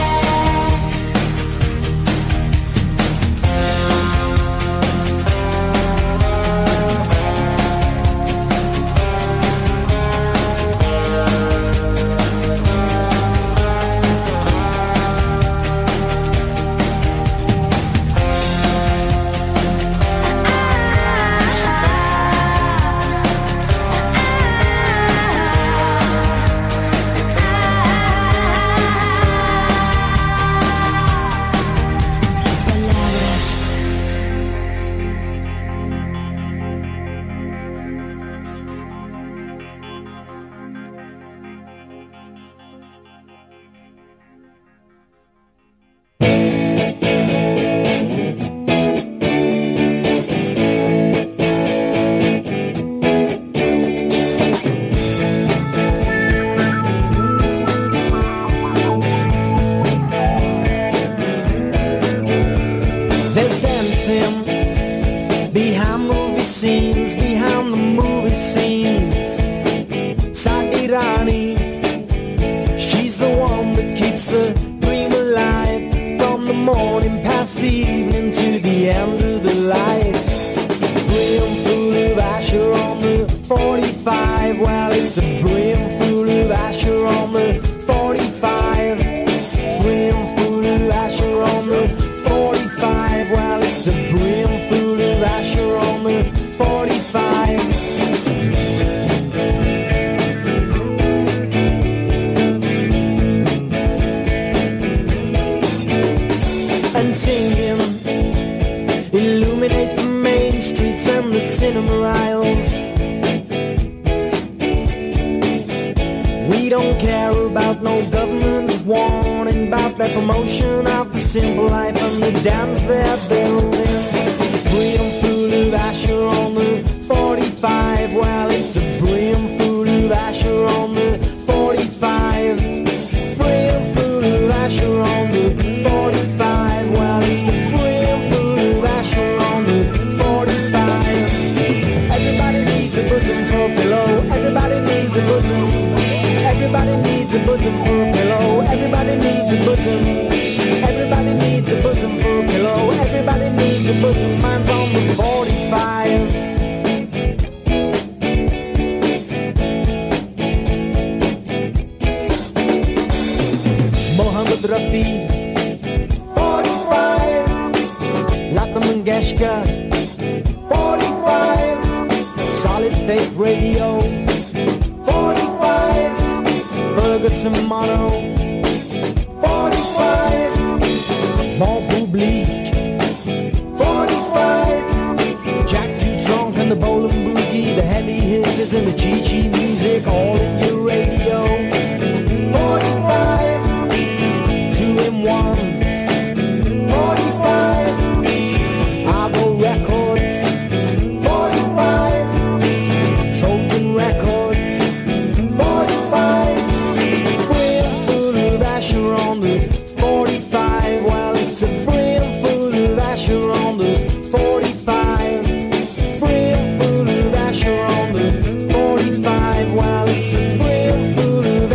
K: cinema aisles. We don't care about no government warning about the promotion of the simple life and the dams they're building. Brim full of Asher on the 45. Well, it's a brim full of Asher on the 45. Brim full of Asher on the 45. Well, it's a brim full of Asher on the 45. Everybody needs a bosom for a pillow. Everybody needs a bosom. Everybody needs a bosom for a pillow. Everybody needs a bosom. Everybody needs a bosom for a pillow. Everybody needs a bosom. Mine's on the 45. Mohammed Rafi, 45. Lata Mangeshkar, 45. Solid State Radio, 45. Ferguson Mono, 45. Bon Public, 45. Jack Trunk and the Bowling Boogie, the heavy hitters and the Chi-Chi music, all in your radio, 45. 2-in-1s, 45. Argo Records, 45. Trojan Records, 45. Brim full of Asher on the 45. Well, it's a brim full of Asher on the 45. Brim full of Asher on the 45. Well, it's a brim full of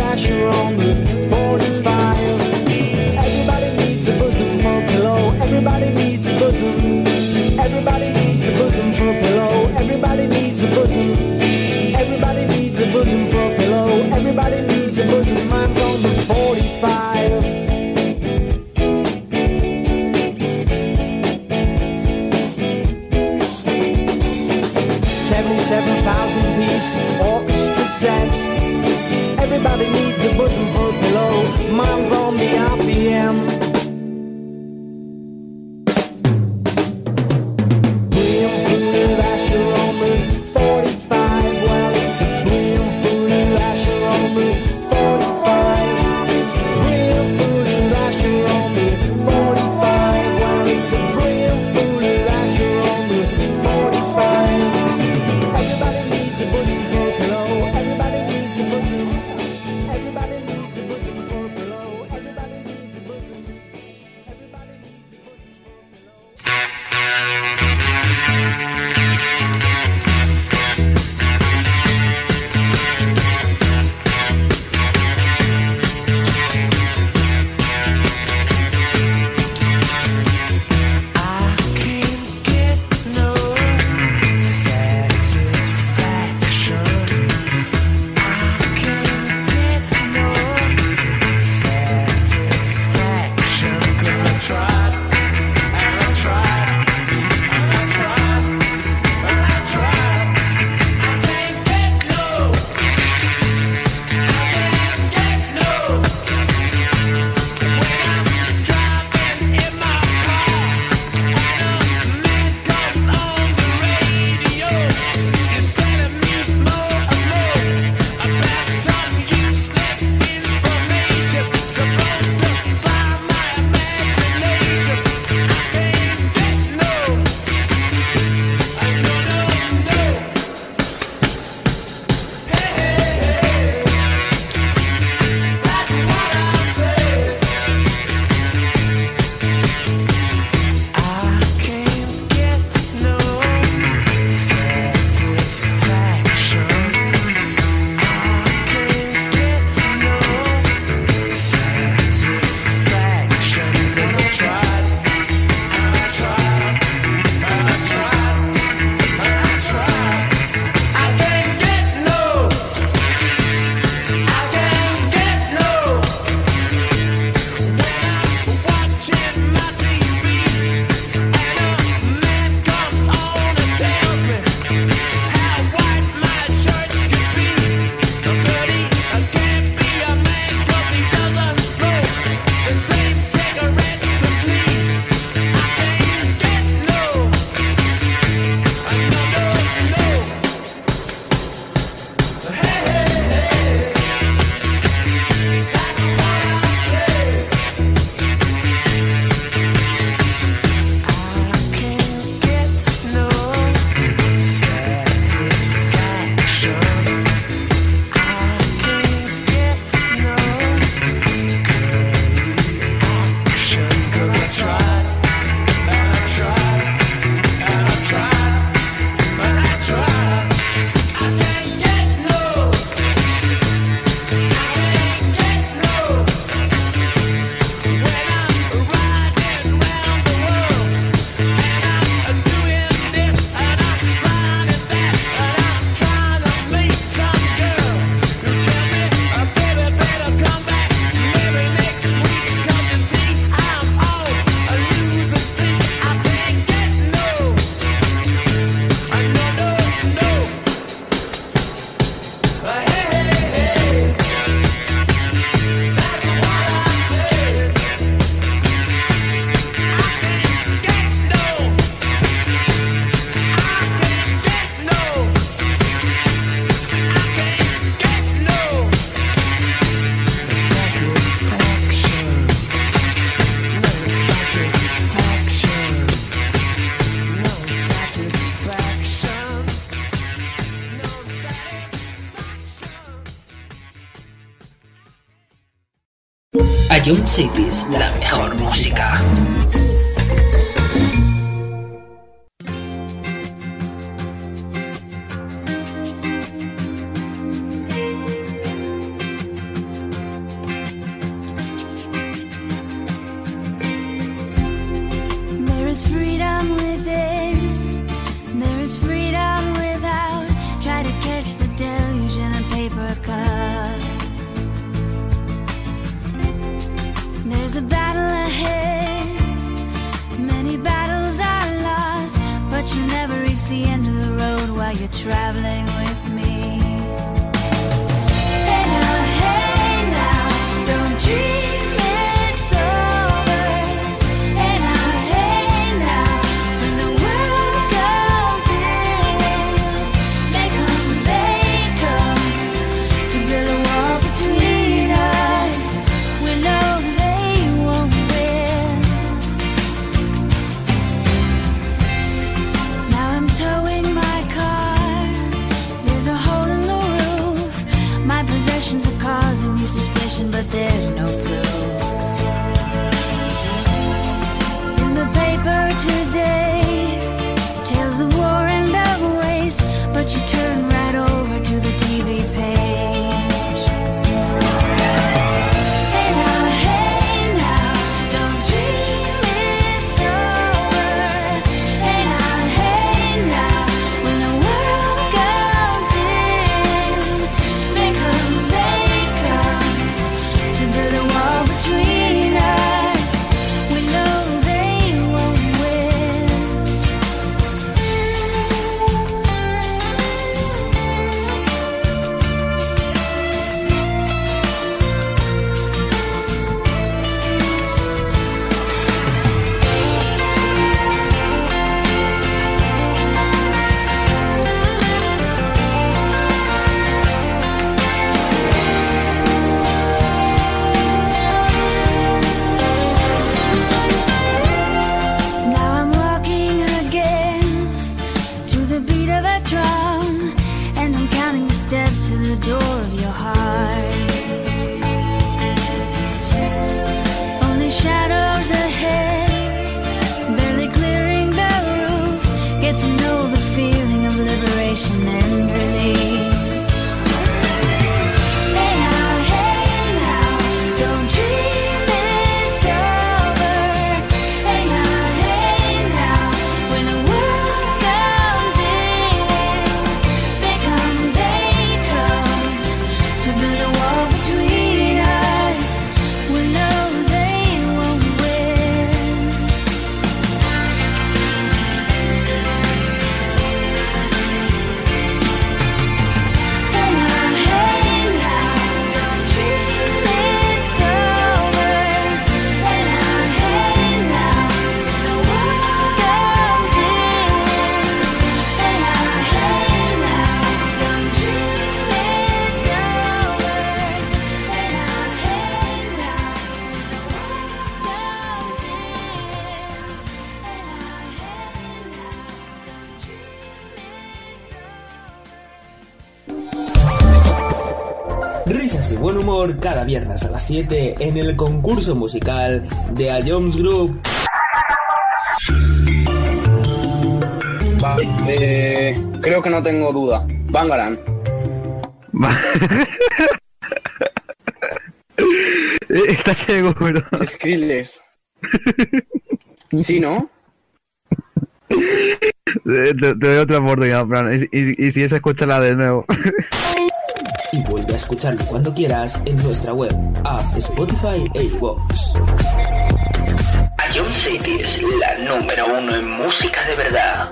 J: satisfaction. No satisfaction. No satisfaction.
A: Ion Cities, la mejor música.
B: There is freedom within, there is freedom without. Try to catch the deluge in a paper cup. There's a battle ahead, many battles are lost, but you never reach the end of the road while you're traveling with me. Hey now, don't dream it's over. Hey now, when the world comes in, they come to build a wall between us. We know they won't win. Now I'm towing my car. There's a hole in the roof. My possessions are causing me suspicion, but there's no proof. In the paper today, tales of war and of waste, but you turn right over to the TV page. Hey now, don't dream it's over. Hey now, when the world comes in, they come to build a wall between us. We know they won't win. Now I'm walking again to the beat of a drum, and I'm counting the steps to the door of your heart. Only shadows ahead, barely clearing the roof. Get to know the feeling of liberation and relief. Hey now, don't dream it's over. Hey now, when the world comes in, they come to build a wall between us. We know they won't win. Hey now, don't dream it's over. Hey now, when the world comes in. Hey now, don't dream it's over. Hey now, when the world comes in.
F: Risas y buen humor cada viernes a las 7 en el concurso musical de Ions Group.
G: Vale, creo que no tengo duda. Bangarang.
H: ¿Estás seguro?
G: Skrillex. ¿Sí, no?
H: Te doy otra oportunidad, Fran. Y si es, escúchala de nuevo.
F: Y vuelve a escucharlo cuando quieras en nuestra web, app, Spotify e iVoox.
A: Ion Cities, la número 1 en música de verdad.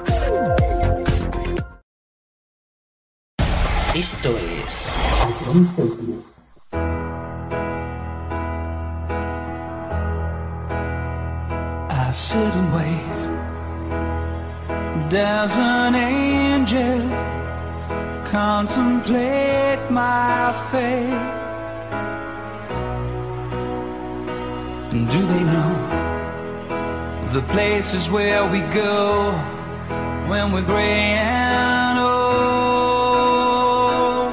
A: Esto es Ion Cities.
D: I sit and wait. There's an angel contemplate my fate. And do they know
J: the places where we go when we're gray and old.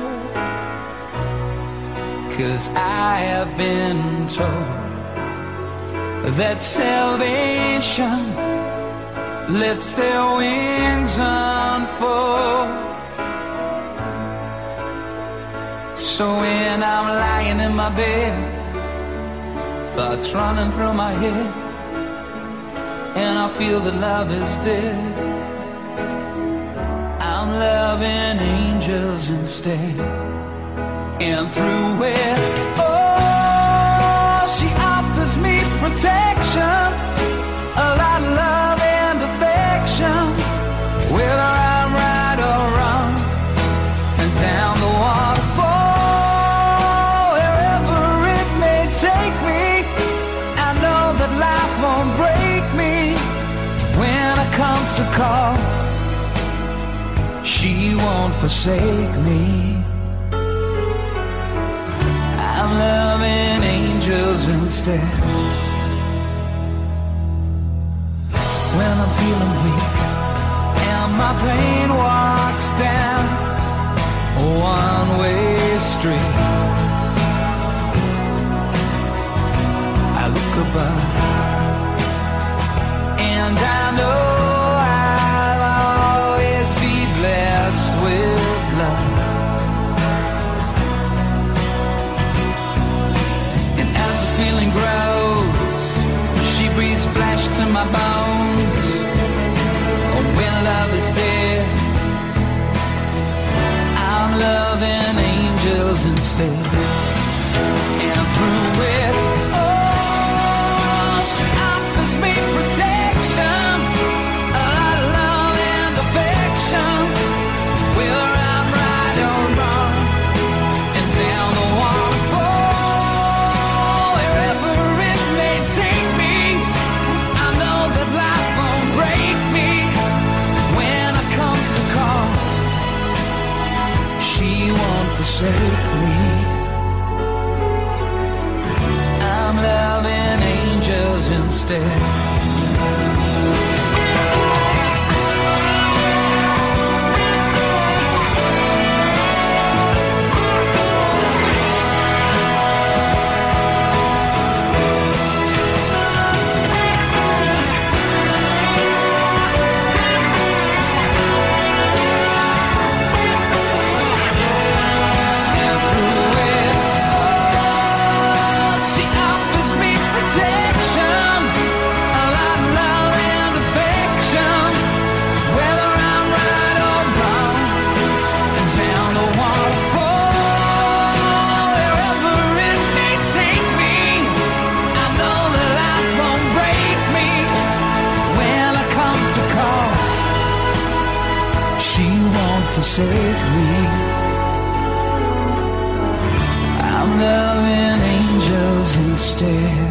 J: 'Cause I have been told that salvation lets their wings unfold. So when I'm lying in my bed, thoughts running through my head, and I feel that love is dead, I'm loving angels instead. And through it, oh, she offers me protection, a lot of love and affection, whether I'm right or wrong, and down the waterfall, wherever it may take me, I know that life won't break me when it comes to call. She won't forsake me. I'm loving angels instead. When I'm feeling weak and my pain walks down a one-way street, I look above and I know I'll always be blessed with love. And as the feeling grows, she breathes flesh to my bones. When love is dead, I'm loving angels instead. And through it, oh, she offers me protection, a lot of love and affection, whether I'm right or wrong, and down the waterfall, wherever it may take me, I know that life won't break me when I come to call. She won't forsake me. I'm loving angels instead. Forsake me. I'm loving angels instead.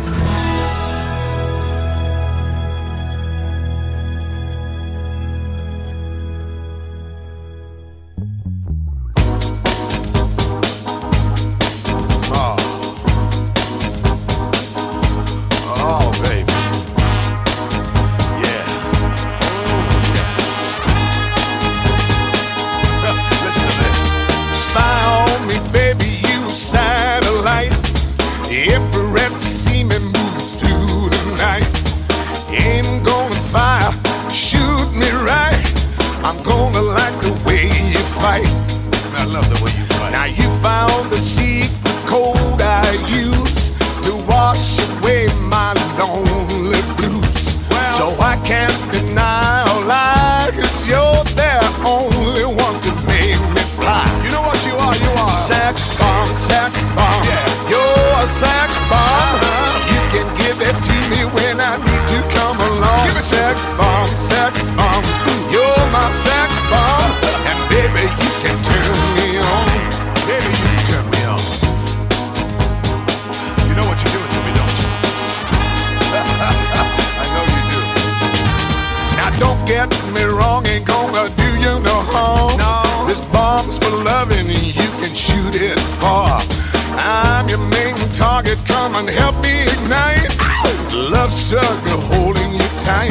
D: Target, come and help me ignite. Love struggle holding you tight.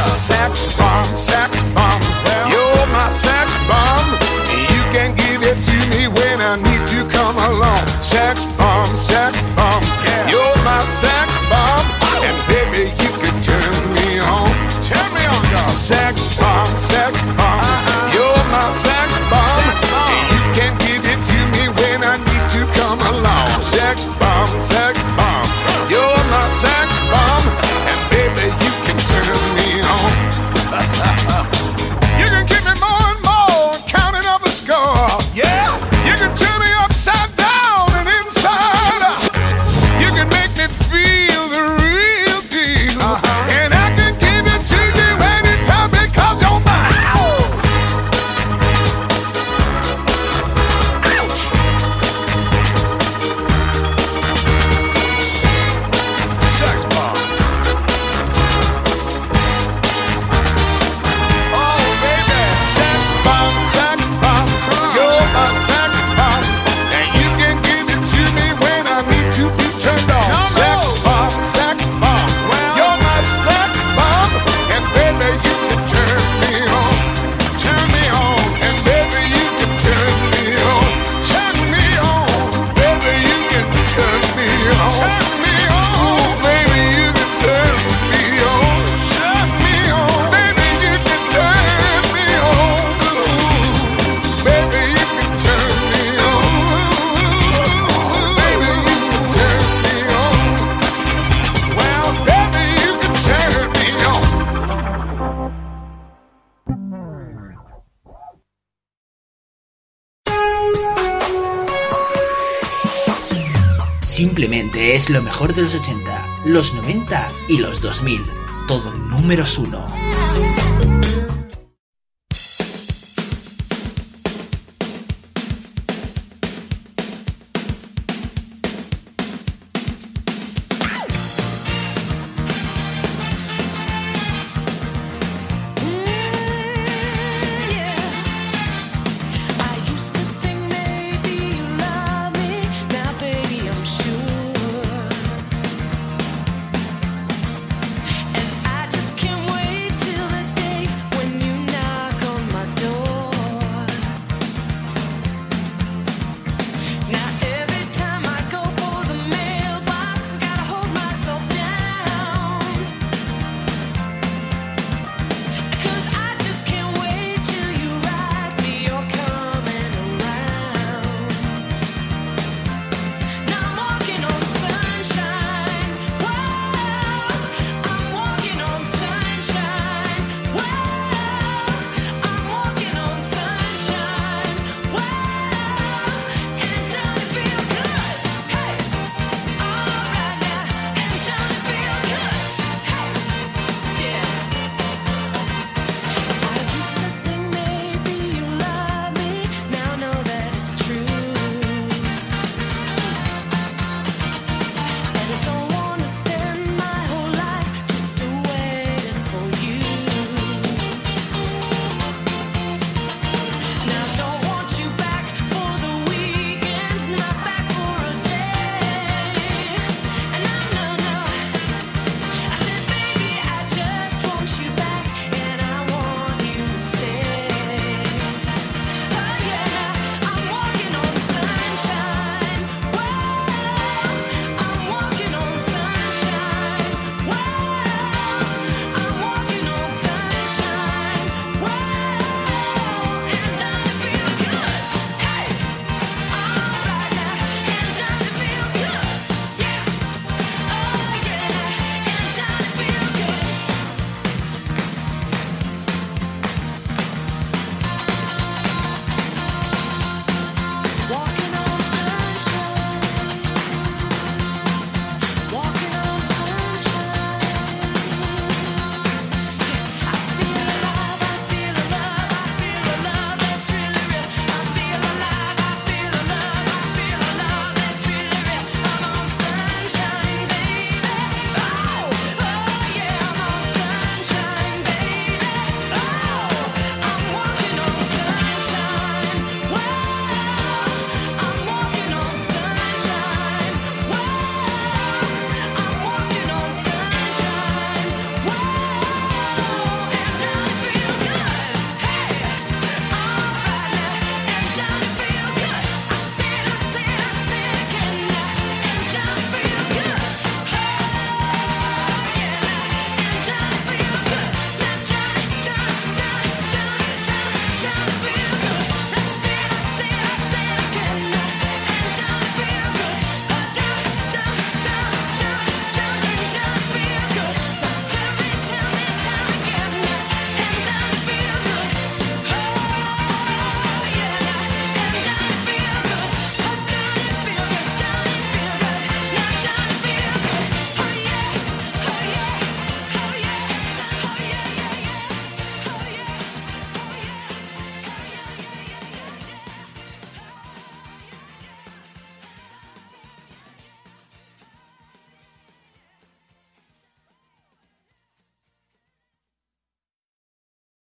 D: Sex bomb, you're my sex bomb. You can give it to me when I need to come along. Sex bomb, you're my sex bomb. And baby, you can turn me on. Turn me on, dog. Sex bomb, you're my sex bomb. You can give it to me when I need to come along. Sex bomb, you're my sex bomb. And baby, you can turn me on. You can keep me more and more, counting up a score. Yeah, you can turn me upside down and inside out. You can make me feel the real deal, and I can give it to you anytime because you're mine. Ouch. Sex bomb. Oh baby, sex bomb, you're my sex bomb, and you can give it to me when I need to be turned on. Sex bomb, you're my sex bomb, and baby you can turn me on, and baby you can turn me on, baby you can turn me on, ooh baby you can turn me on, baby you can turn me on, ooh baby you can turn me on, baby you can turn me on, well baby you can turn me on.
A: Simplemente es lo mejor de los 80, los 90 y los 2000. Todo números 1.
B: I used to think maybe you love me, now baby I'm sure. And I just can't wait till the day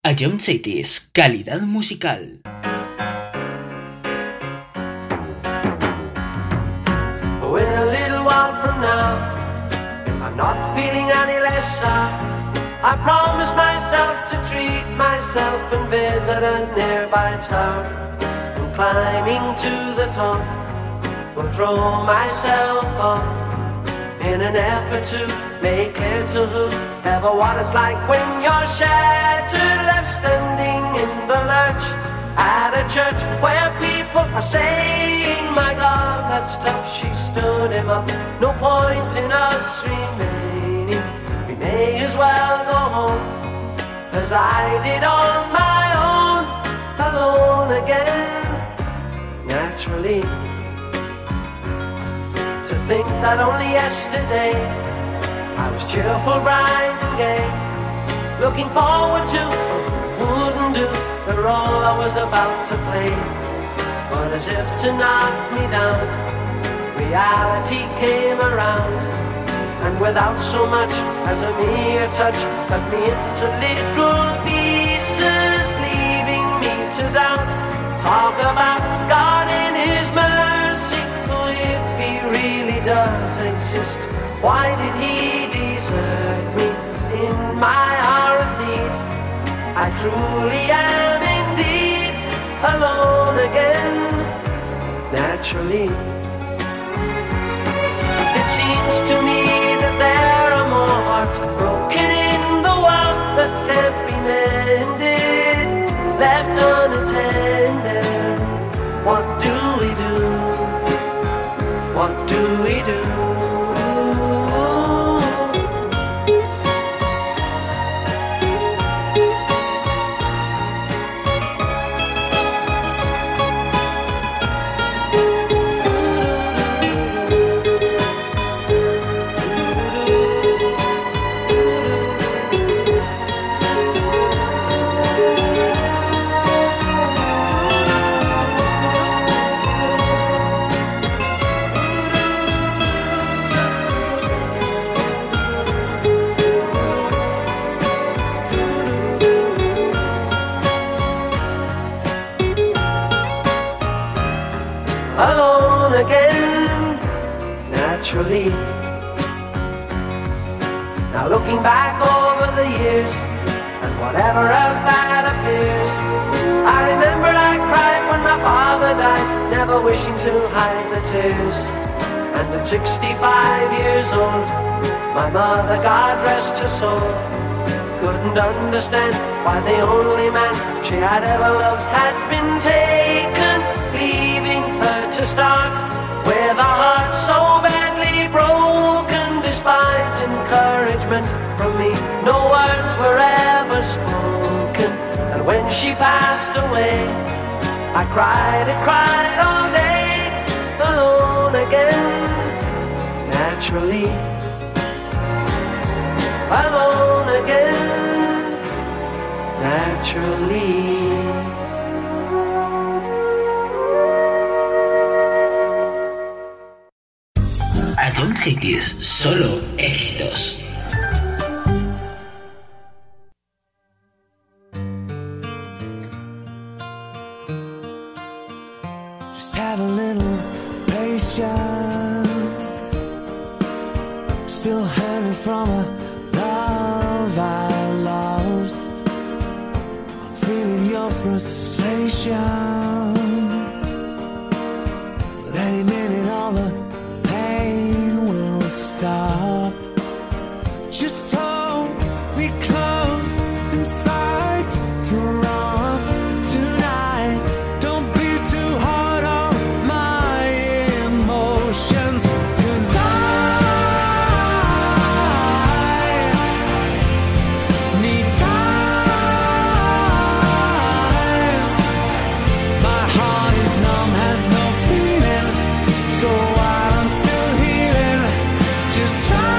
A: A John Cities, calidad musical.
L: Oh, in a little while from now, if I'm not feeling any less sad, I promise myself to treat myself and visit a nearby tower. And climbing to the top, will throw myself off in an effort to make clear to whoever what it's like when you're shattered, left standing in the lurch at a church where people are saying, my God, that's tough. She stood him up. No point in us remaining. We may as well go home, as I did on my own, alone again. Naturally, to think that only yesterday I was cheerful, bright and gay, looking forward to what wouldn't do the role I was about to play. But as if to knock me down, reality came around, and without so much as a mere touch, cut me into little pieces, leaving me to doubt. Talk about God in His mercy, oh, if He really does exist, why did He desert me in my hour of need? I truly am indeed alone again, naturally. It seems to me that there are more hearts broken in the world that can't be mended, left unattended. What do we do? What do we do? Alone again, naturally. Now looking back over the years, and whatever else that appears, I remember I cried when my father died, never wishing to hide the tears. And at 65 years old, my mother, God rest her soul, couldn't understand why the only man she had ever loved had been taken, leaving her to start with a heart so badly broken. Despite encouragement from me, no words were ever spoken. And when she passed away, I cried all day, alone again, naturally. Alone again, naturally.
A: A John Cities, solo éxitos.
C: Just have a little patience. I'm still hanging from a love I lost. I'm feeling your frustration, but any minute all the pain will stop. Just hold me close inside your arms tonight. Don't be too hard on my emotions, 'cause I need time. My heart is numb, has no feeling, so while I'm still healing, just try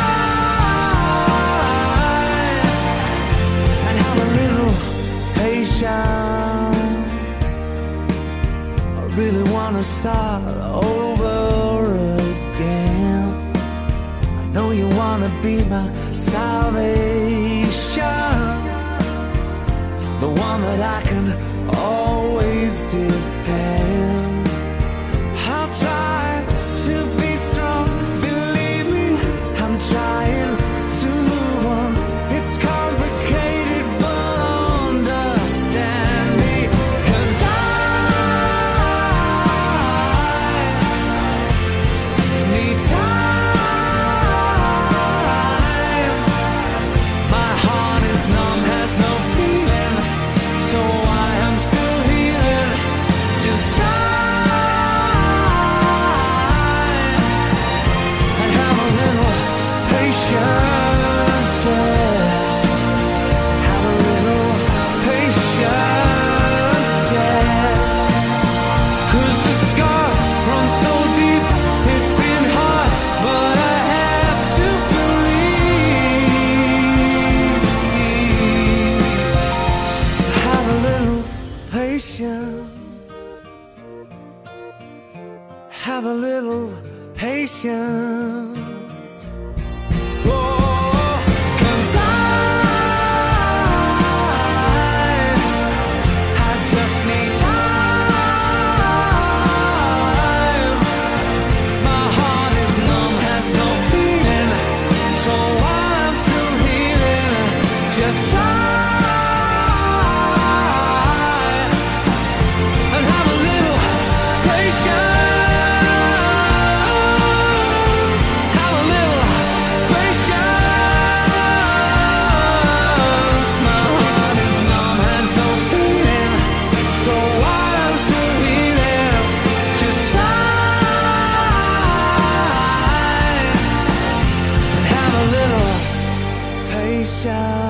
C: and have a little patience. I really wanna start over again. I know you wanna be my salvation, the one that I can always depend. I'll try to be strong, believe me, I'm trying to move on. It's complicated, but understand me, 'cause I need time. My heart is numb, has no feeling, so I am still healing. Just time. I have a little patience, yeah. Have a little patience, yeah. 'Cause the scars run so deep, it's been hard, but I have to believe. Have a little patience. Have a little patience. Oh, 'cause I just need time. My heart is numb, has no feeling, so I'm still healing. Just sigh and have a little patience. Have a little patience. My heart is numb, has no feeling, so I'm still healing. Just sigh and have a little patience.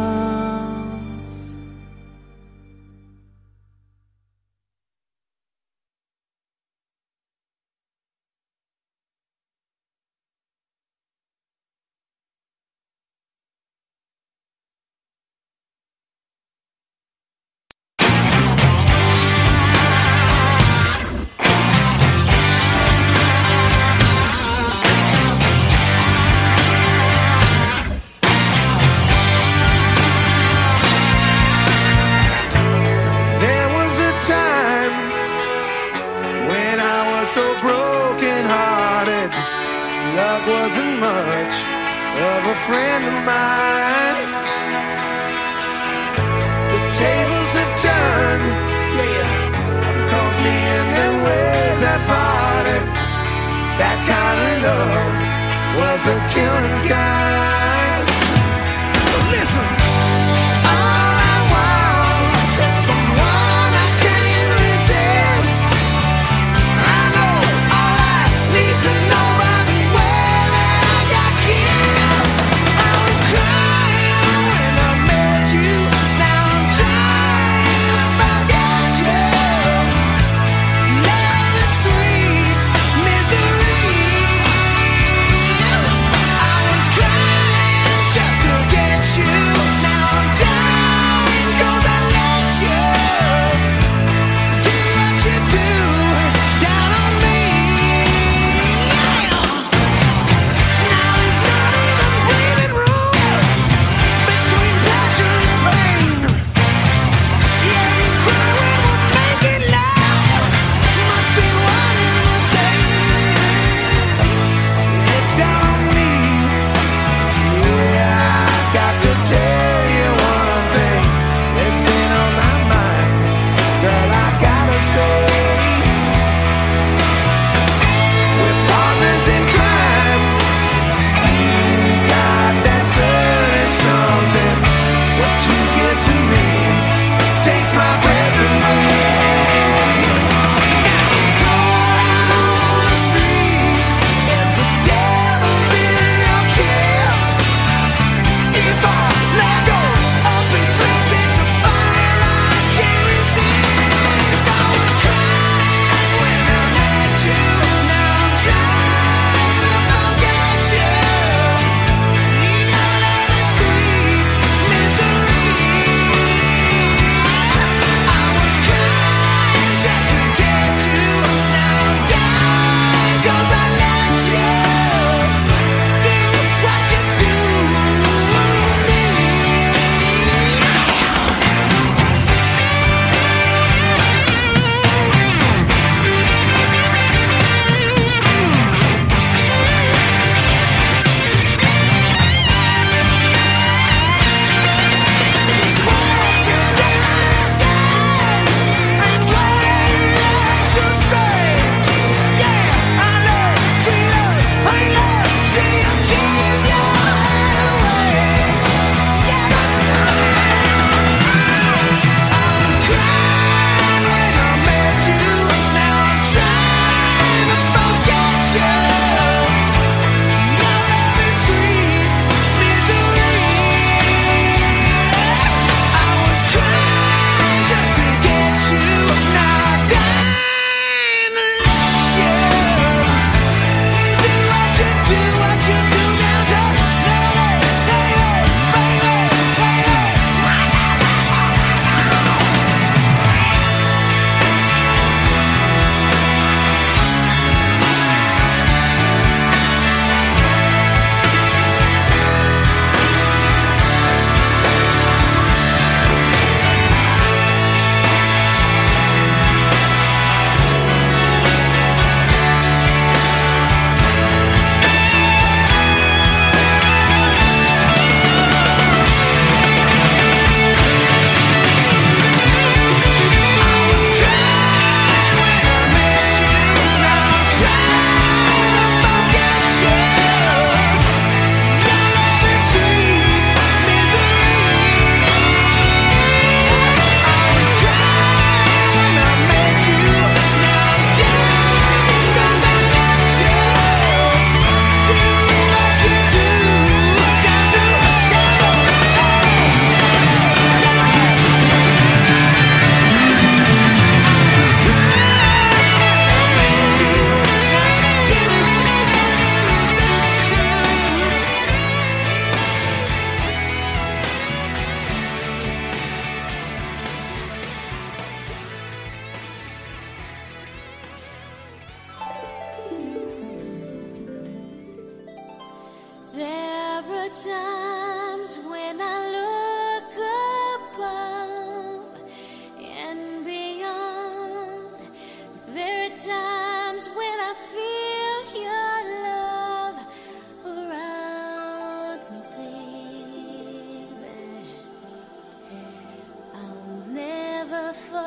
C: There was a time when I was so broken hearted. Love wasn't much of a friend of mine. The tables have turned, yeah. One calls me in and ways that parted. That kind of love was the killing kind. So listen. All I want is someone I can't resist. I know all I need to know by the way that I got kissed. I was crying when I met you. Now I'm trying to forget you. Love is sweet misery. I was crying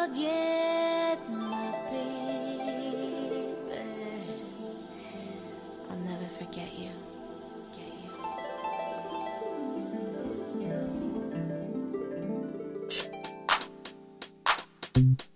B: forget my baby. I'll never forget you.
C: Forget you.